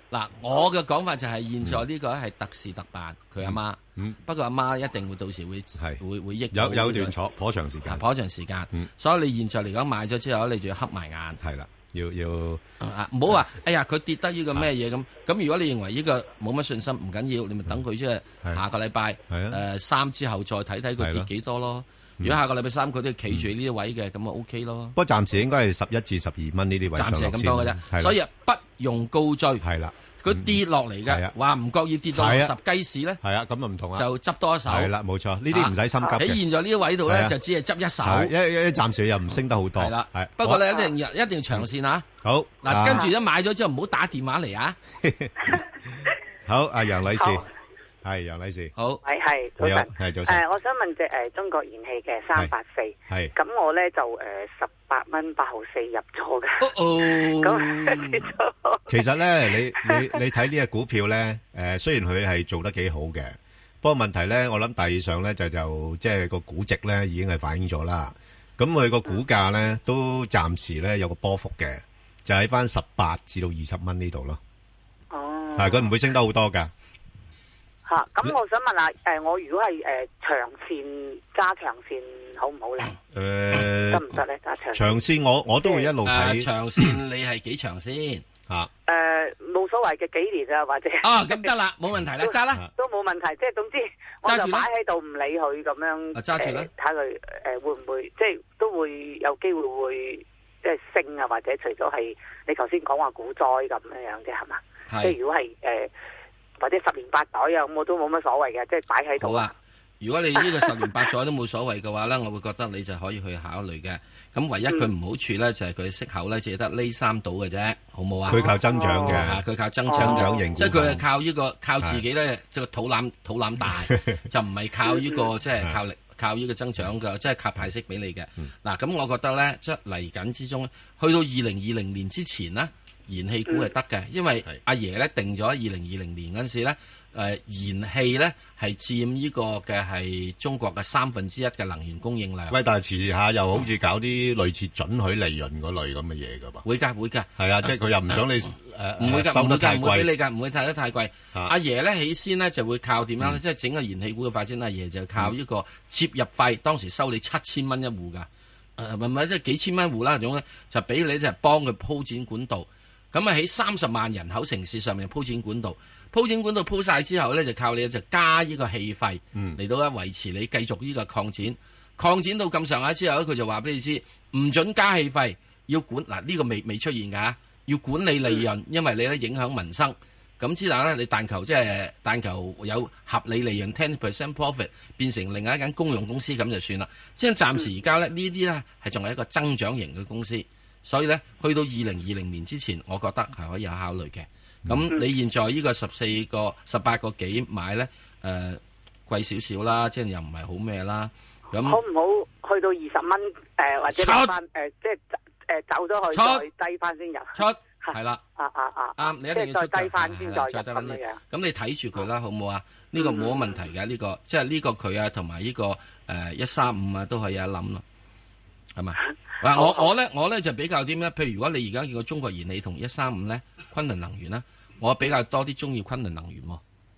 嗱，我嘅講法就係現在呢個係特事特辦，佢阿媽。嗯。不過阿媽一定會到時會會會益。 有有段坐頗長時間。 頗長時間。嗯。所以你現在嚟講買咗之後，你就要黑埋眼。 係啦，要要。 啊！唔好話，哎呀，佢跌得呢個咩嘢咁？咁如果你認為呢個冇乜信心，唔緊要，你咪等佢即係下個禮拜誒三之後再睇睇佢跌幾多咯。如果下個禮拜三佢都企住呢啲位嘅，咁啊 OK 咯。 不過暫時應該係十一至十二蚊呢啲位上落先。 暫時係咁多嘅啫，所以不用高追。 係啦。 佢跌落嚟嘅，話唔覺意跌到十雞屎咧， 係啊，咁啊唔同啊， 就執多一手。 係啦，冇錯，呢啲唔使心急嘅。 喺現在呢啲位度咧，就只係執一手。 一一暫時又唔升得好多。係啦，係。 不過你一定一定要長線啊。好。嗱，跟住一買咗之後，唔好打電話嚟啊。 好，阿楊女士，係楊女士。 好， 係係早晨， 係早晨。 誒，我想問隻誒中國燃氣嘅三八四，係咁我咧就誒十八蚊八毫四入咗嘅。哦，咁跌咗。 其實咧，你你你睇呢隻股票咧，誒，雖然佢係做得幾好嘅，不過問題咧，我諗大致上咧就就即係個估值咧已經係反映咗啦。咁佢個股價咧都暫時咧有個波幅嘅，就喺翻十八至到二十蚊呢度咯。哦，係佢唔會升得好多噶。 吓，咁我想問下，誒，我如果係誒長線揸長線好唔好咧？誒，得唔得咧？揸長長線我我都會一路睇。 長線你係幾長先？ 吓， 誒，冇所謂嘅幾年啊，或者哦，咁得啦，冇問題啦，揸啦， 都冇問題。即係總之，我就擺喺度唔理佢咁樣， 揸住啦， 睇下佢誒會唔會即係都會有機會會即係升啊，或者除咗係你頭先講話股災咁樣樣啫，係嘛？即係如果係誒。或者十年八載啊，咁我都冇乜所謂嘅，即係擺喺度。 好啊，如果你呢個十年八載都冇所謂嘅話咧，我會覺得你就可以去考慮嘅。咁唯一佢唔好處咧，就係佢息口咧，只係得呢三度嘅啫，好冇啊？ 佢靠增長嘅， 佢靠增增長型， 即係佢係靠呢個靠自己咧，即係肚腩肚腩大，就唔係靠呢個即係靠力靠呢個增長嘅，即係靠派息俾你嘅。嗱，咁我覺得咧，即係嚟緊之中，去到二零二零年之前呢。燃氣股係得嘅，因為阿爺咧定咗二零二零年嗰陣時咧，誒燃氣咧係佔呢個嘅係中國嘅三分之一嘅能源供應量。 喂，但係遲下又好似搞啲類似準許利潤嗰類咁嘅嘢㗎噃。 會㗎會㗎。係啊，即係佢又唔想你誒唔會㗎， 收得太貴， 唔會俾你㗎，唔會睇得太貴。阿爺咧起先咧就會靠點樣咧？即係整個燃氣股嘅發展，阿爺就靠呢個接入費，當時收你七千蚊一戶㗎。誒唔係即係幾千蚊一戶啦，總咧就俾你就係幫佢鋪展管道。咁啊喺三十萬人口城市上面鋪展管道，鋪展管道鋪晒之後咧，就靠你就加呢個氣費嚟、嗯、到咧維持你繼續呢個擴展，擴展到咁上下之後咧，佢就話俾你知唔准加氣費，要管嗱呢、呢個未未出現㗎，要管理利潤，因為你咧影響民生。咁之但咧，你但求即係但求有合理利潤 ten percent profit 變成另外一間公用公司咁就算啦。即係暫時而家咧呢啲咧係仲係一個增長型嘅公司。所以咧，去到二零二零年之前，我覺得係可以有考慮嘅。咁、嗯、你現在呢個十四個、十八個幾買咧，誒、呃、貴少少啦，即係又唔係好咩啦。咁好唔好去到二十蚊誒，或者翻誒、呃，即係誒、呃、走咗去再低翻先入出係啦。啊啊啊！啱，你一定要出再低翻先再入咁樣。咁你睇住佢啦，好唔好啊？呢、這個冇乜問題嘅，呢、這個即係呢個佢啊，同埋呢個誒一三五啊，都可以有一諗咯，係咪？嗱，我我咧，我咧就比較啲咩？譬如如果你而家見過中國燃氣同一三五咧，昆侖能源咧，我比較多啲中意昆侖能源。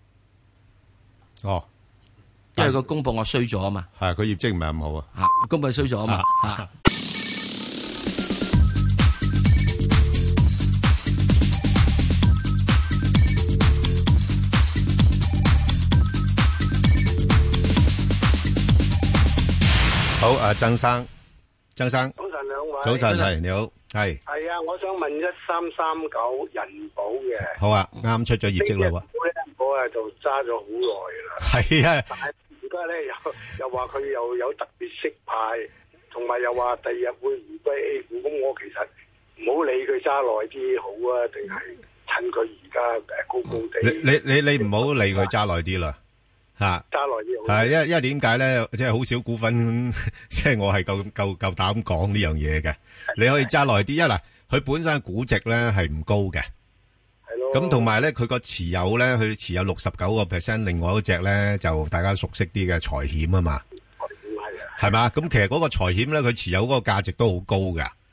哦，因為個公布我衰咗啊嘛， 係佢業績唔係咁好啊， 吓公布衰咗啊嘛，吓。 好，阿曾生。張生， 早晨兩位， 早晨係你好，係係啊，我想問一三三九人保嘅， 好啊，啱出咗業績啦喎， 人保啊就揸咗好耐啦， 係啊， 但係而家咧又又話佢又有特別息派，同埋又話第二日會回歸 A 股，咁我其實唔好理佢揸耐啲好啊，定係趁佢而家誒高高地？ 你你你你唔好理佢揸耐啲啦。吓，揸耐啲係，因為因為點解咧？即係好少股份，即係我係夠夠夠膽講呢樣嘢嘅。你可以揸耐啲，一嗱，佢本身估值咧係唔高嘅，係咯。咁同埋咧，佢個持有咧，佢持有六十九個 percent，另外一隻咧就大家熟悉啲嘅財險啊嘛。財險係啊，係嘛？咁其實嗰個財險咧，佢持有嗰個價值都好高噶。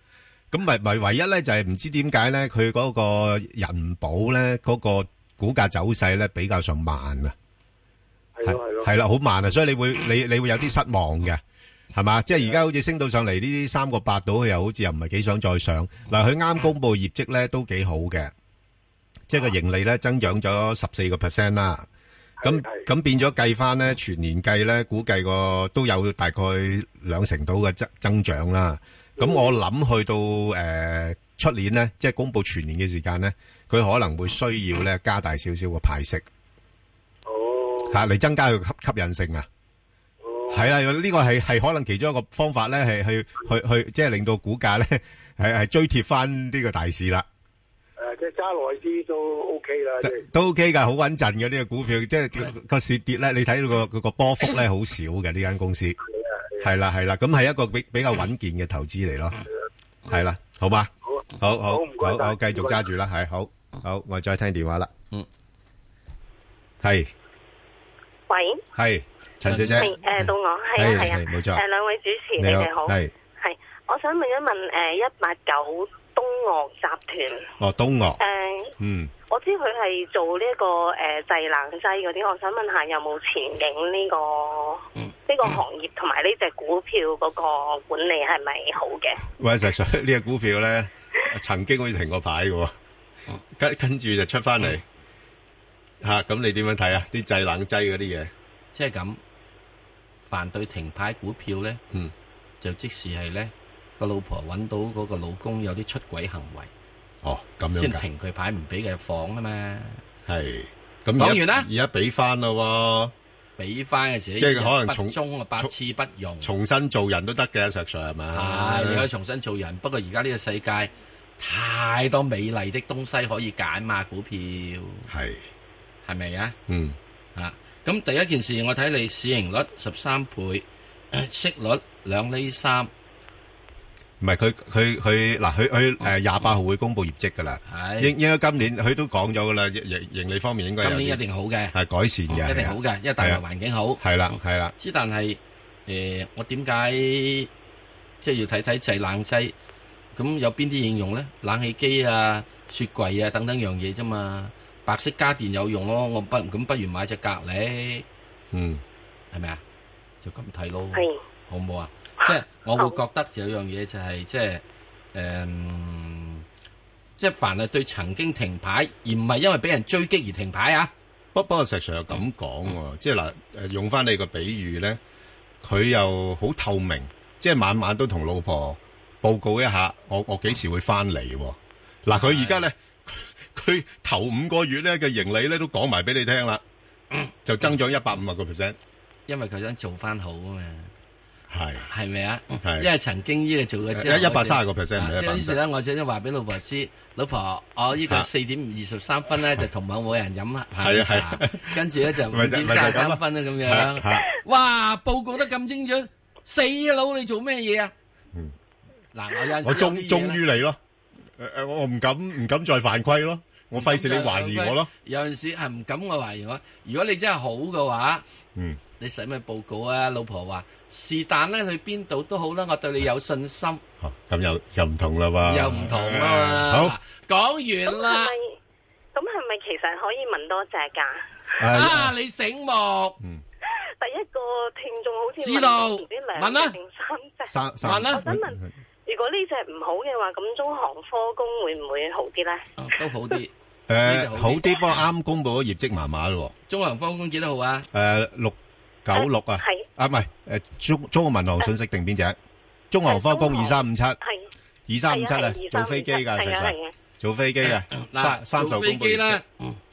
咁咪咪唯一咧就係唔知點解咧，佢嗰個人保咧嗰個股價走勢咧比較上慢啊。 係咯係咯。 係啦，好慢啊，所以你會你你會有啲失望嘅。係嘛？即係而家好似升到上嚟呢啲三個八度，佢又好似又唔係幾想再上。嗱，佢啱公布業績咧都幾好嘅，即係個盈利咧增長咗十四個 percent 啦。咁咁變咗計翻咧，全年計咧，估計個都有大概兩成度嘅增增長啦。咁我諗去到誒出年咧，即係公布全年嘅時間咧，佢可能會需要咧加大少少個派息。 哦。 吓嚟增加佢吸吸引性啊！係啦，呢個係係可能其中一個方法咧，係去去去，即係令到股價咧係係追貼翻呢個大市啦。 誒，即係揸耐啲都 OK 啦，即係都 OK 噶，好穩陣嘅呢個股票，即係個市跌咧，你睇到個佢個波幅咧好少嘅呢間公司。係啦係啦，咁係一個比比較穩健嘅投資嚟咯。係啦，好嘛？好好好，好繼續揸住啦，係好好，我再聽電話啦。嗯，係， 喂， 係。陳小姐， 係誒到我，係啊係啊， 冇錯。 誒兩位主持，你哋好，係係，我想問一問誒一八九東嶽集團。 哦，東嶽。 誒， 嗯， 我知佢係做呢個誒製冷劑嗰啲，我想問下有冇前景呢個呢個行業，同埋呢隻股票嗰個管理係咪好嘅？ 喂，實在呢個股票咧，曾經好似停過牌嘅，跟跟住就出翻嚟吓，咁你點樣睇啊？啲製冷劑嗰啲嘢， 即係咁。凡對停牌股票咧，嗯，就即時係咧個老婆揾到嗰個老公有啲出軌行為， 哦，咁樣先停佢牌唔俾佢入房啊嘛。 係，咁講完啦， 而家俾翻咯， 俾翻嘅時， 即係可能重中啊，百次不用， 重新做人都得嘅，石 Sir 係咪？ 係，你可以重新做人，不過而家呢個世界太多美麗的東西可以揀嘛，股票係係咪啊？ 嗯啊。咁第一件事，我睇你市盈率十三倍，息率兩厘三， 唔係佢佢佢嗱佢佢誒廿八號會公布業績噶啦，應應該今年佢都講咗噶啦，盈盈利方面應該今年一定好嘅， 係改善嘅， 一定好嘅，因為大環環境好， 係啦係啦。 之但係誒，我點解即係要睇睇製冷劑？咁有邊啲應用咧？冷氣機啊、雪櫃啊等等樣嘢啫嘛。白色家電有用咯，我不咁不如買隻格力，嗯，係咪啊？就咁睇咯，好唔好啊？即係我會覺得有樣嘢就係即係誒，即係凡係對曾經停牌而唔係因為俾人追擊而停牌啊。 不不過石 Sir 又咁講喎，即係嗱誒，用翻你個比喻咧，佢又好透明，即係晚晚都同老婆報告一下，我我幾時會翻嚟？嗱，佢而家咧。佢頭五個月咧嘅盈利咧都講埋俾你聽啦，就增長一百五十個 percent， 因為佢想做翻好啊嘛， 係係咪啊？ 係， 因為曾經呢個做嘅之後， 一百三十個 percent， 即係於是咧，我就想話俾老婆知，老婆，我呢個四點二十三分咧就同某某人飲下午茶，跟住咧就五點三十三分啦咁樣，哇！報告得咁精準，死佬你做咩嘢啊？嗯，嗱，我有我終終於嚟咯，誒誒，我唔敢唔敢再犯規咯。我費事你懷疑我咯， 有陣時係唔敢我懷疑我。如果你真係好嘅話，嗯，你使咩報告啊？老婆話是但咧，去邊度都好啦，我對你有信心。 哦，咁又又唔同啦喎， 又唔同啦嘛。好，講完啦。 咁係咪其實可以問多隻㗎？ 啊，你醒目。 嗯。第一個聽眾好似知道， 唔知兩隻定三隻？ 三三。 問啦。我想問。如果呢隻唔好嘅話，咁中航科工會唔會好啲咧？ 都好啲， 誒，好啲，不過啱公布咗業績麻麻咯。 中航科工幾多號啊？ 誒，六九六啊，係啊，唔係誒，中中國民航信息定邊隻？中航科工二三五七，係二三五七啊，做飛機噶，實實做飛機嘅，三三十號公布業績。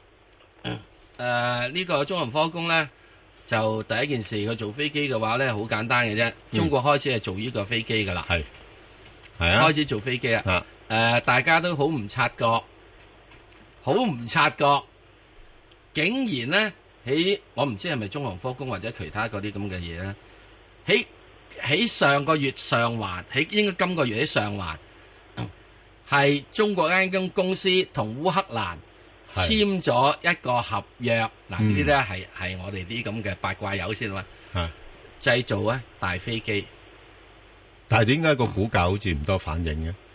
誒，呢個中航科工咧，就第一件事，佢做飛機嘅話咧，好簡單嘅啫。中國開始係做呢個飛機噶啦。係。係啊，開始做飛機啊！誒、呃，大家都好唔察覺，好唔察覺，竟然咧喺我唔知係咪中航科工或者其他嗰啲咁嘅嘢咧，喺喺上個月上環，喺應該今個月喺上環，係、嗯、中國間間公司同烏克蘭簽咗一個合約。嗱，呢啲咧係係我哋啲咁嘅八卦友先啦，製造啊大飛機。 但係點解個股價好似唔多反應嘅？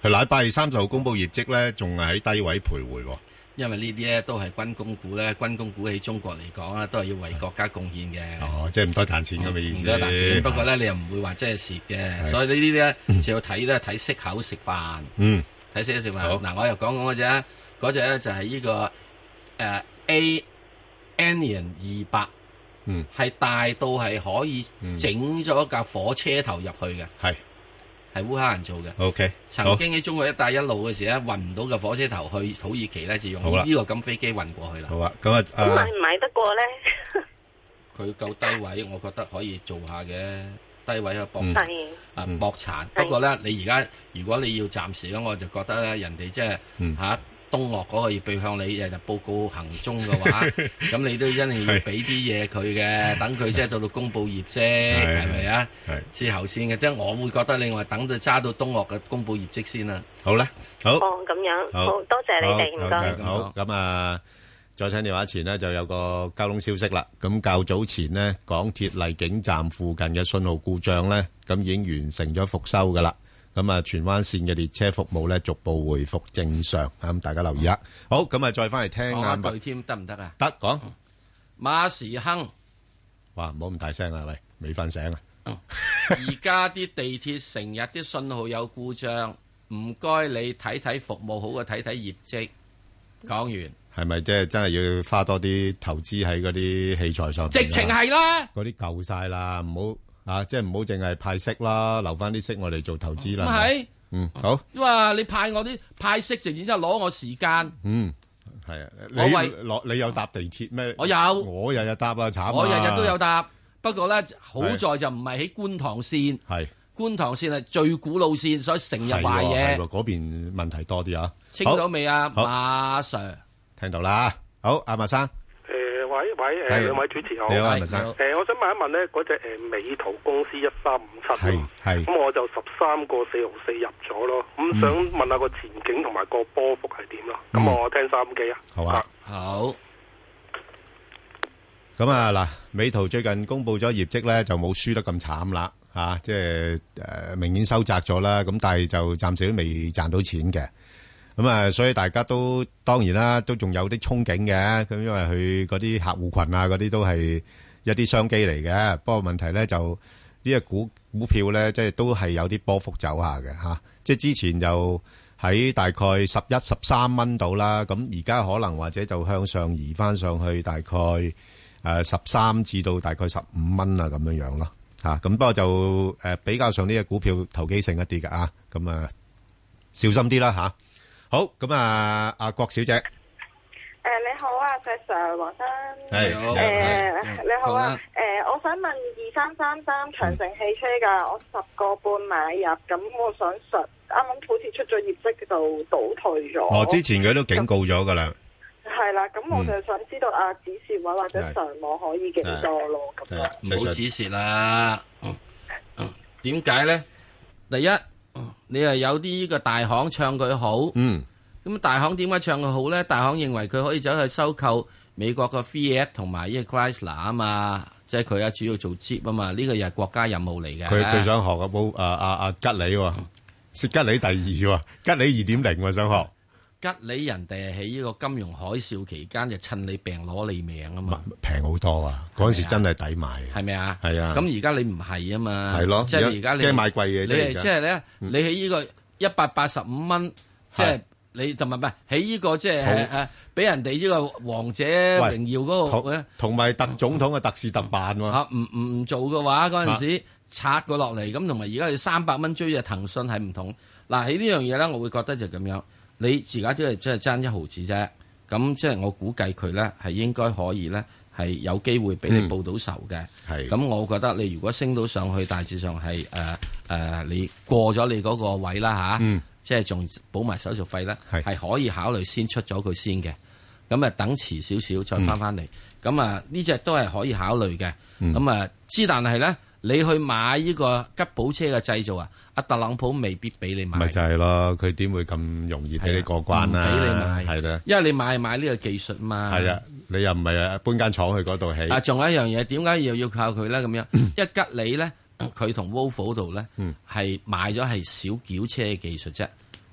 係禮拜二三十號公佈業績咧，仲係喺低位徘徊喎。 因為呢啲咧都係軍工股咧，軍工股喺中國嚟講啊，都係要為國家貢獻嘅。 哦，即係唔多賺錢咁嘅意思。 唔多賺錢，不過咧你又唔會話即係蝕嘅，所以呢啲咧就要睇咧睇息口食飯。 嗯， 睇息口食飯。嗱，我又講講嗰隻，嗰隻咧就係呢個誒 A Anion 二百，嗯，係大到係可以整咗架火車頭入去嘅。係。係烏克蘭做嘅 ，OK。 曾經喺中國一帶一路嘅時咧，運唔到嘅火車頭去土耳其咧，就用呢個咁飛機運過去啦。 好啊，咁啊， 咁買唔買得過咧？ 佢夠低位，我覺得可以做下嘅，低位啊搏殘啊搏殘。不過咧，你而家如果你要暫時咧，我就覺得咧，人哋即係嚇。東岳嗰個要備向你日日報告行蹤嘅話，咁你都一定要俾啲嘢佢嘅，等佢即係到到公佈業績，係咪啊？之後先嘅，即係我會覺得另外等到揸到東岳嘅公佈業績先啦。 好啦，好。 哦，咁樣，好多謝你哋，唔該。 好，咁啊，再聽電話前呢，就有個交通消息啦。咁較早前呢，港鐵荔景站附近嘅信號故障咧，咁已經完成咗復修噶啦。咁啊，荃灣線嘅列車服務咧逐步回復正常，咁大家留意啦。好，咁啊，再翻嚟聽下對添得唔得啊？ 得講馬時亨， 哇，唔好咁大聲啊！喂，未瞓醒啊！ 而家啲地鐵成日啲信號有故障，唔該你睇睇服務好過睇睇業績。講完係咪即係真係要花多啲投資喺嗰啲器材上？ 直情係啦， 嗰啲夠晒啦，唔好。啊，即係唔好淨係派息啦，留翻啲息我哋做投資啦。 係， 嗯，好。 哇，你派我啲派息，直然之後攞我時間。 嗯，係啊。你攞你有搭地鐵咩？ 我有， 我日日搭啊，慘啊！ 我日日都有搭，不過咧好在就唔係喺觀塘線。係，觀塘線係最古老線，所以成日壞嘢。 嗰邊問題多啲啊。 清到未啊，馬 Sir？ 聽到啦。好，阿馬生。 喂喂，誒兩位主持好， 你好，文生。 誒，我想問一問咧，嗰隻誒美圖公司一三五七， 係係， 咁我就十三個四毫四入咗咯，咁想問下個前景同埋個波幅係點咯？咁我聽三機啊。 好啊， 好。 咁啊嗱，美圖最近公布咗業績咧，就冇輸得咁慘啦，嚇，即係誒明顯收窄咗啦，咁但係就暫時都未賺到錢嘅。咁啊，所以大家都當然啦，都仲有啲憧憬嘅。咁因為佢嗰啲客戶群啊，嗰啲都係一啲商機嚟嘅。不過問題咧就呢個股股票咧，即係都係有啲波幅走下嘅嚇。即係之前就喺大概十一、十三蚊度啦。咁而家可能或者就向上移翻上去，大概誒十三至到大概十五蚊啊咁樣樣咯嚇。咁不過就誒比較上呢個股票投機性一啲嘅啊。咁啊小心啲啦嚇。好，咁啊，阿郭小姐，誒你好啊，石 Sir 黃生， 係誒你好啊，誒我想問二三三三長城汽車噶，我十個半買入，咁我想實啱啱好似出咗業績就倒退咗。 哦，之前佢都警告咗噶啦。 係啦，咁我就想知道啊，止蝕位或者上網可以幾多咯？咁樣唔好止蝕啦。嗯嗯，點解咧？第一。你係有啲呢個大行唱佢好，嗯，咁大行點解唱佢好咧？大行認為佢可以走去收購美國嘅 Fiat 同埋呢個 Chrysler 啊嘛，即係佢啊主要做 Jeep 啊嘛，呢個又係國家任務嚟嘅。 佢佢想學啊，冇啊啊啊吉利喎，是吉利第二喎，吉利二點零喎想學。 吉利人哋係喺呢個金融海嘯期間就趁你病攞你命啊嘛， 平好多啊！嗰陣時真係抵買， 係咪啊？ 係啊！ 咁而家你唔係啊嘛， 係咯， 即係而家你驚買貴嘢， 你係即係咧，你喺呢個一百八十五蚊，即係你就唔係唔係喺呢個即係誒俾人哋呢個王者榮耀嗰個咧， 同埋特總統嘅特事特辦喎嚇，唔唔唔做嘅話嗰陣時拆過落嚟，咁同埋而家要三百蚊追嘅騰訊係唔同。嗱喺呢樣嘢咧，我會覺得就咁樣。你而家都係即係爭一毫子啫，咁即係我估計佢咧係應該可以咧係有機會俾你報到仇嘅。係、嗯，咁我覺得你如果升到上去，大致上係誒誒你過咗你嗰個位啦吓，啊嗯、即係仲補埋手續費咧，係可以考慮先出咗佢先嘅。咁啊等遲少少再翻翻嚟，咁啊呢隻都係可以考慮嘅。咁啊之但係咧，你去買呢個吉普車嘅製造啊？阿特朗普未必俾你買， 咪就係咯，佢點會咁容易俾你過關啊？ 唔俾你買， 係啦， 因為你買買呢個技術嘛。 係啊，你又唔係啊搬間廠去嗰度起。 啊，仲有一樣嘢，點解又要靠佢咧？咁樣，一吉利咧，佢同 Volvo 度咧，係賣咗係小轎車嘅技術啫，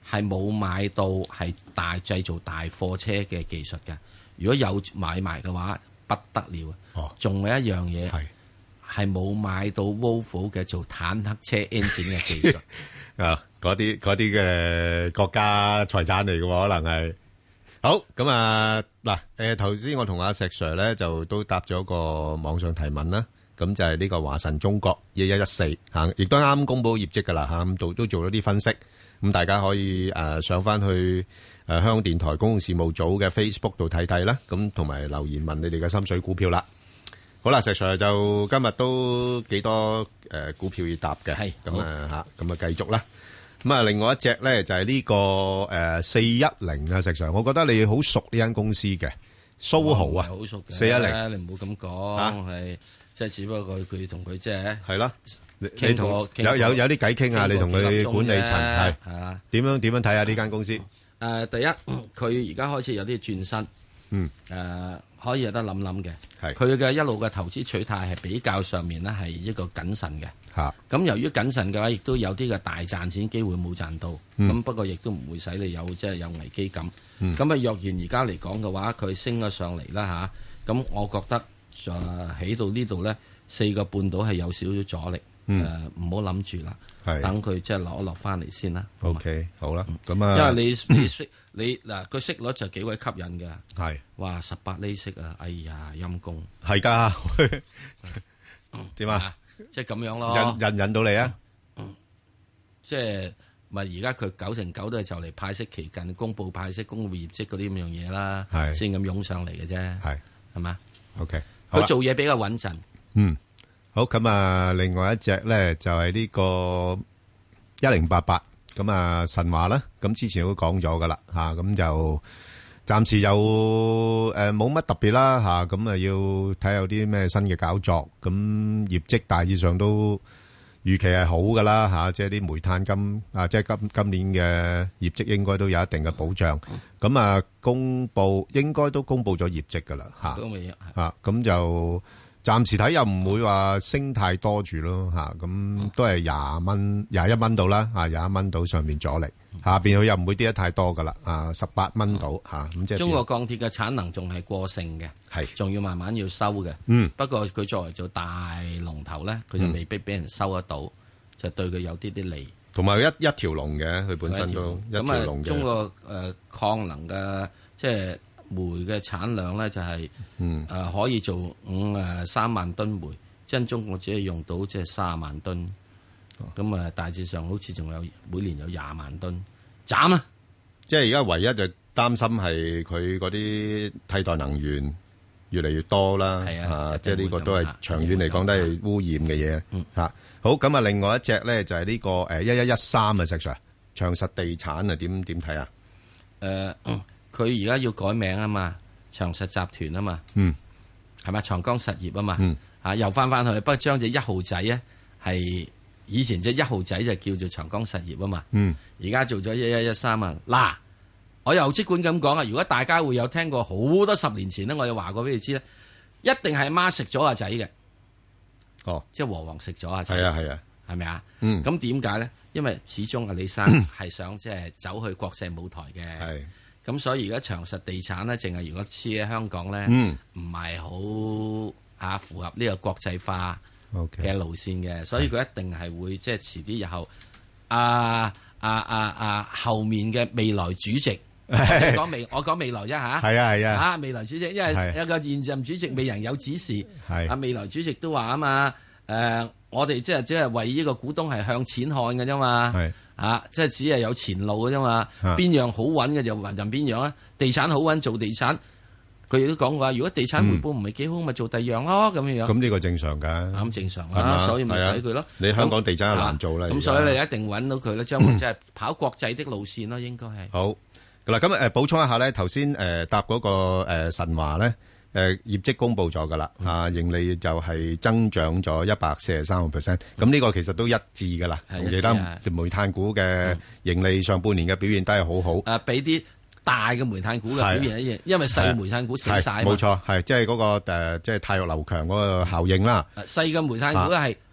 係冇買到係大製造大貨車嘅技術嘅。如果有買埋嘅話，不得了啊！仲、哦、有一樣嘢係冇買到 Volvo 嘅做坦克車 engine 嘅技術啊！嗰啲嗰啲嘅國家財產嚟嘅，可能係好咁啊！嗱，誒頭先我同阿石 Sir 咧就都答咗個網上提問啦。咁就係呢個華晨中國一一一四嚇，亦都啱啱公佈業績㗎啦嚇，咁都都做咗啲分析，咁大家可以誒上翻去誒香港電台公共事務組嘅 Facebook 度睇睇啦，咁同埋留言問你哋嘅心水股票啦。好啦，石 Sir 就今日都幾多誒股票要答嘅，係咁啊嚇，咁啊繼續啦。咁啊，另外一隻咧就係呢個誒四一零啊，石 Sir，我覺得你好熟呢間公司嘅蘇豪啊， 好熟嘅四一零， 你唔好咁講係。即係只不過佢同佢即係係啦，你同有有有啲偈傾啊，你同佢管理層係係啊，點樣點樣睇下呢間公司？ 誒，第一佢而家開始有啲轉身， 嗯誒可以有得諗諗嘅。 係佢嘅一路嘅投資取態係比較上面咧係一個謹慎嘅嚇。 咁由於謹慎嘅話，亦都有啲嘅大賺錢機會冇賺到。咁不過亦都唔會使你有即係有危機感。咁啊，若然而家嚟講嘅話，佢升咗上嚟啦嚇。咁我覺得。就起到呢度咧，四個半島係有少少阻力，誒唔好諗住啦，等佢即係落一落翻嚟先啦。 O K，好啦，咁啊， 因為你你息你嗱個息率就幾鬼吸引嘅， 係哇十八厘息啊，哎呀陰公， 係㗎，點啊？ 即係咁樣咯， 引引引到你啊？ 即係咪而家佢九成九都係就嚟派息期近，公佈派息、公佈業績嗰啲咁樣嘢啦，先咁湧上嚟嘅啫，係係嘛 ？O K。 佢做嘢比較穩陣。 嗯，好咁啊，另外一隻咧就係呢個一零八八咁啊神華啦。咁之前都講咗噶啦吓，咁就暫時有誒冇乜特別啦吓，咁啊要睇有啲咩新嘅搞作。咁業績大致上都預期係好噶啦吓，即係啲煤炭今啊即係今今年嘅業績應該都有一定嘅保障。咁啊公布應該都公布咗業績噶啦吓，啊咁就暫時睇又唔會話升太多住咯吓，咁都係廿蚊廿一蚊到啦吓，廿一蚊到上面阻力，下邊佢又唔會跌得太多噶啦啊，十八蚊到吓，咁即係中國鋼鐵嘅產能仲係過剩嘅，係仲要慢慢要收嘅。 嗯， 不過佢作為做大龍頭咧，佢就未必俾人收得到，就對佢有啲啲利。 同埋一一條龍嘅，佢本身都一條龍嘅。 中國誒礦能嘅即係煤嘅產量咧，就係誒可以做五誒三萬噸煤，即係中國只係用到即係三萬噸。咁啊，大致上好似仲有每年有廿萬噸斬啊！ 即係而家唯一就擔心係佢嗰啲替代能源越嚟越多啦。 係啊， 即係呢個都係長遠嚟講都係污染嘅嘢。嗯，嚇好咁啊！另外一隻咧就係呢個誒一一一三啊，石 Sir 長實地產啊，點點睇啊？ 誒，佢而家要改名啊嘛，長實集團啊嘛。 嗯， 係咪長江實業啊嘛？ 嗯， 啊又翻翻去，不過將隻一號仔咧係。以前隻一號仔就叫做長江實業啊嘛， 嗯， 而家做咗一一一三啊。嗱，我又即管咁講啊，如果大家會有聽過好多十年前咧，我有話過俾你知咧，一定係媽食咗阿仔嘅， 哦， 即係和黃食咗阿仔， 係啊係啊， 係咪啊？ 嗯， 咁點解咧？因為始終阿李生係想即係走去國際舞台嘅， 係， 咁所以而家長實地產咧，淨係如果黐喺香港咧， 嗯， 唔係好啊符合呢個國際化嘅 Okay. 路線嘅，所以佢一定係會即係遲啲日後，啊啊啊啊後面嘅未來主席，講未我講未來啫吓， 係啊係啊， 啊未來主席，因為有個現任主席未人有指示， 係啊未來主席都話啊嘛，誒我哋即係只係為呢個股東係向錢看嘅啫嘛， 係啊即係只係有前路嘅啫嘛，邊樣好穩嘅就運任邊樣啊，地產好穩做地產。佢亦都講過，如果地產回報唔係幾好，咪、嗯、做第二樣咯，咁樣樣。咁呢個正常㗎。 咁正常啦，所以咪睇佢咯。 你香港地產又難做啦。 咁所以你一定揾到佢咧，將佢即係跑國際的路線咯，應該係。 好嗱，咁誒補充一下咧，頭先誒答嗰個誒神華咧，誒業績公佈咗㗎啦，啊盈利就係增長咗一百四十三個 percent，咁呢個其實都一致㗎啦，同其他煤炭股嘅盈利上半年嘅表現都係好好。 誒俾啲。大嘅煤炭股嘅表現一樣，因為細煤炭股死晒。 冇錯，係即係嗰個誒，即係汰弱留強嗰個效應啦。 細嘅煤炭股係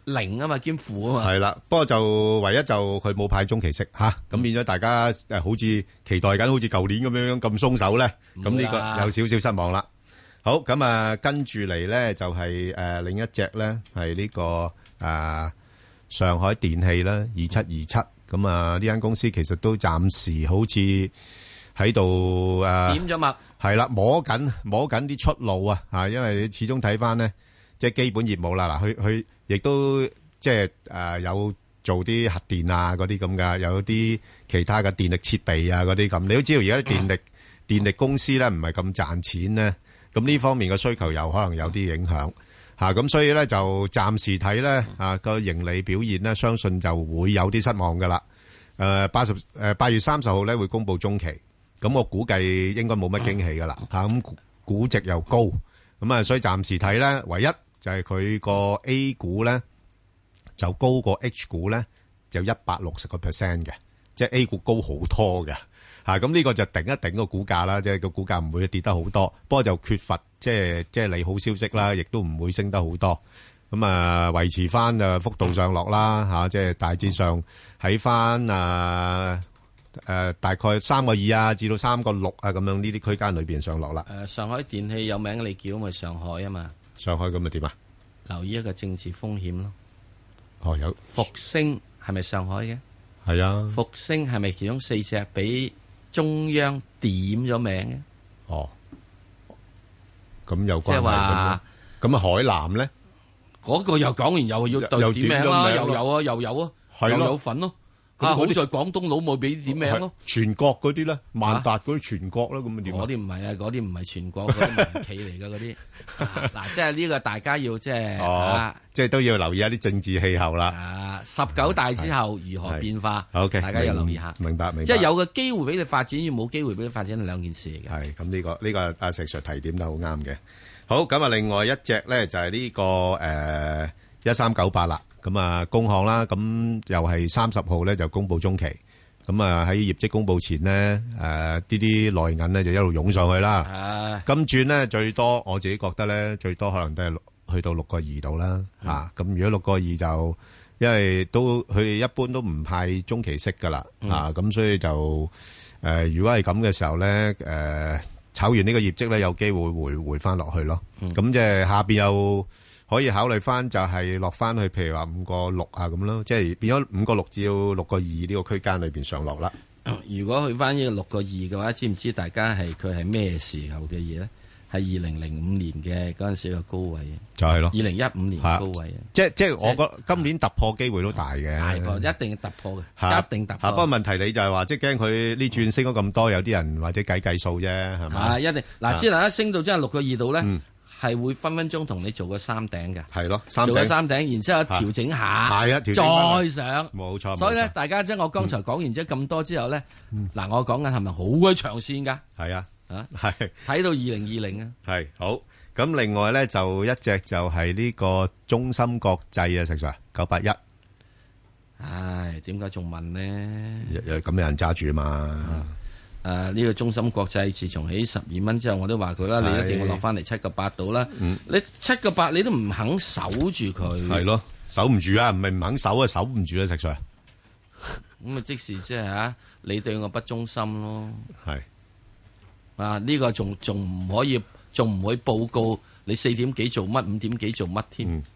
零啊嘛，兼負啊嘛。 係啦，不過就唯一就佢冇派中期息吓，咁變咗大家誒好似期待緊，好似舊年咁樣樣咁鬆手咧，咁呢個有少少失望啦。好，咁啊跟住嚟咧就係誒另一隻咧係呢個誒上海電氣啦，二七二七，咁啊呢間公司其實都暫時好似喺度誒點咗脈， 係啦，摸緊摸緊啲出路啊吓，因為你始終睇翻咧即係基本業務啦，嗱佢佢亦都即係誒有做啲核電啊嗰啲咁噶，有啲其他嘅電力設備啊嗰啲咁，你都知道而家啲電力、嗯、電力公司咧唔係咁賺錢咧。咁呢方面嘅需求又可能有啲影響嚇，咁所以咧就暫時睇咧啊個盈利表現咧，相信就會有啲失望噶啦。誒八十誒八月三十號咧會公布中期，咁我估計應該冇乜驚喜噶啦嚇，咁估值又高，咁啊所以暫時睇咧，唯一就係佢個 A 股咧就高過 H 股咧，就一百六十個 percent 嘅，即係 A 股高好多嘅。嚇咁呢個就頂一頂個股價啦，即係個股價唔會跌得好多，不過就缺乏即係即係利好消息啦，亦都唔會升得好多。咁啊維持翻啊幅度上落啦嚇，即係大致上喺翻啊誒大概三個二啊至到三個六啊咁樣呢啲區間裏邊上落啦。 誒上海電氣有名你叫咪上海啊嘛？ 上海咁咪點啊？ 留意一個政治風險咯。 哦有復星係咪上海嘅？ 係啊。復星係咪其中四隻俾中央點咗名嘅？ 哦，咁有關係咁，咁啊海南咧， 嗰個又講完又要對點名啦，又有啊，又有啊，又有份咯。啊，好在廣東佬冇俾點名咯。 全國嗰啲咧，萬達嗰啲全國啦，咁啊點？ 嗰啲唔係啊，嗰啲唔係全國嗰啲民企嚟嘅嗰啲。嗱，即係呢個大家要即係哦，即係都要留意一啲政治氣候啦。 啊，十九大之後如何變化 ？OK， 大家要留意下。 明白明白。 即係有個機會俾你發展，要冇機會俾你發展係兩件事嚟嘅。 係咁呢個呢個阿石 Sir 提點得好啱嘅。好，咁啊，另外一隻咧就係呢個誒一三九八啦。咁啊，工行啦，咁又係三十號咧就公布中期，咁啊喺業績公布前咧，誒呢啲內銀咧就一路湧上去啦。金轉咧最多，我自己覺得咧最多可能都係去到六個二度啦，嚇。咁如果六個二就，因為都佢哋一般都唔派中期息噶啦，嚇。咁所以就誒，如果係咁嘅時候咧，誒炒完呢個業績咧，有機會回回翻落去咯。咁即係下邊又可以考慮翻，就係落翻去，譬如話五個六啊咁咯，即係變咗五個六至到六個二呢個區間裏邊上落啦。 如果去翻呢個六個二嘅話，知唔知大家係佢係咩時候嘅嘢咧？係二零零五年嘅嗰陣時嘅高位啊，就係咯，二零一五年嘅高位啊。 即係即係，我覺得今年突破機會都大嘅， 大破一定突破嘅，一定突破。 不過問題你就係話，即係驚佢呢轉升咗咁多，有啲人或者計計數啫，係嘛？ 啊，一定嗱，之後一升到真係六個二度咧。係會分分鐘同你做個三頂嘅， 係咯， 做個三頂，然之後調整下， 係啊， 再上， 冇錯。 所以咧，大家即係我剛才講完之後咁多之後咧，嗱，我講緊係咪好鬼長線噶？ 係啊， 啊， 係睇到二零二零啊， 係好。咁另外咧就一隻就係呢個中芯國際啊，石 Sir 九八一。 唉，點解仲問呢？ 咁有人揸住嘛？ 誒，呢、啊這個中芯國際自從起十二蚊之後，我都話佢啦，你一定要落翻嚟七個八度啦。嗯、你七個八你都唔肯守住佢，係咯，守唔住啊，唔係唔肯守啊，守唔住啊，石 Sir。 咁啊，即時即係吓，你對我不忠心咯。 係是啊，呢、這個仲仲唔可以，仲唔會報告你四點幾做乜，五點幾做乜添？嗯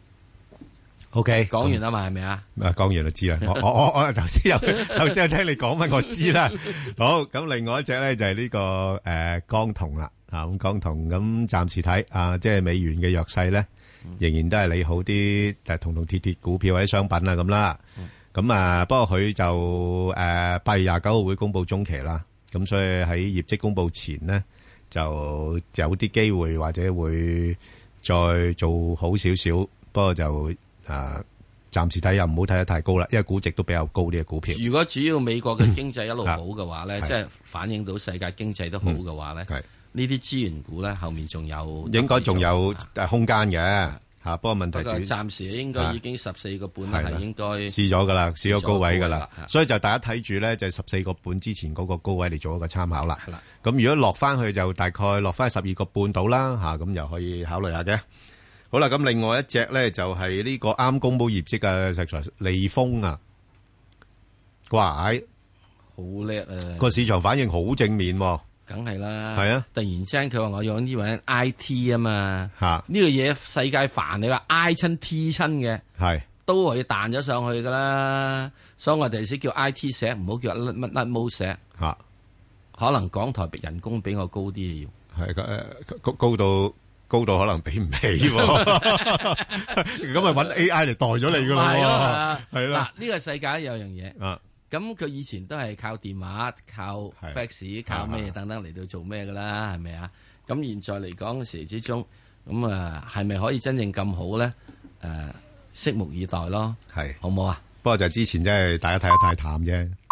O K， 講完啦嘛，係咪啊？ 啊，講完就知啦。我我我我頭先有頭先有聽你講乜，我知啦。好，咁另外一隻咧就係呢個誒江銅啦。啊，咁江銅咁暫時睇啊，即係美元嘅弱勢咧，仍然都係利好啲誒銅銅鐵鐵股票或者商品啊咁啦。咁啊，不過佢就誒八月廿九號會公布中期啦。咁所以喺業績公布前咧，就有啲機會或者會再做好少少。不過就啊，暫時睇又唔好睇得太高啦，因為估值都比較高啲嘅股票。 如果主要美國嘅經濟一路好嘅話咧，即係反映到世界經濟都好嘅話咧，呢啲資源股咧後面仲有應該仲有空間嘅嚇。不過問題係暫時應該已經十四個半啦，係應該試咗噶啦，試咗高位噶啦，所以就大家睇住咧，就係十四個半之前嗰個高位嚟做一個參考啦。咁如果落翻去就大概落翻十二個半到啦嚇，咁又可以考慮下嘅。 好啦，咁另外一隻咧就係呢個啱公布業績嘅石材利豐啊，哇！ 好叻啊！ 個市場反應好正面喎。 梗係啦， 係啊！ 突然之間佢話我用呢樣 I T 啊嘛，呢個嘢世界煩你話 I 親 T 親嘅， 係都係彈咗上去噶啦。所以我哋先叫 I T 石，唔好叫乜乜乜毛石。 嚇， 可能港台人工比我高啲要， 係誒高高到高到可能比唔起喎。咁咪揾 A I 嚟代咗你噶咯？係啊，係啦。 嗱，呢個世界有樣嘢。 啊。 咁佢以前都係靠電話、靠 fax、靠咩等等嚟到做咩噶啦，係咪啊？咁現在嚟講嘅時之中，咁啊係咪可以真正咁好咧？誒、呃，拭目以待咯， 係好唔好啊？ 不過就之前真係大家睇得太淡啫。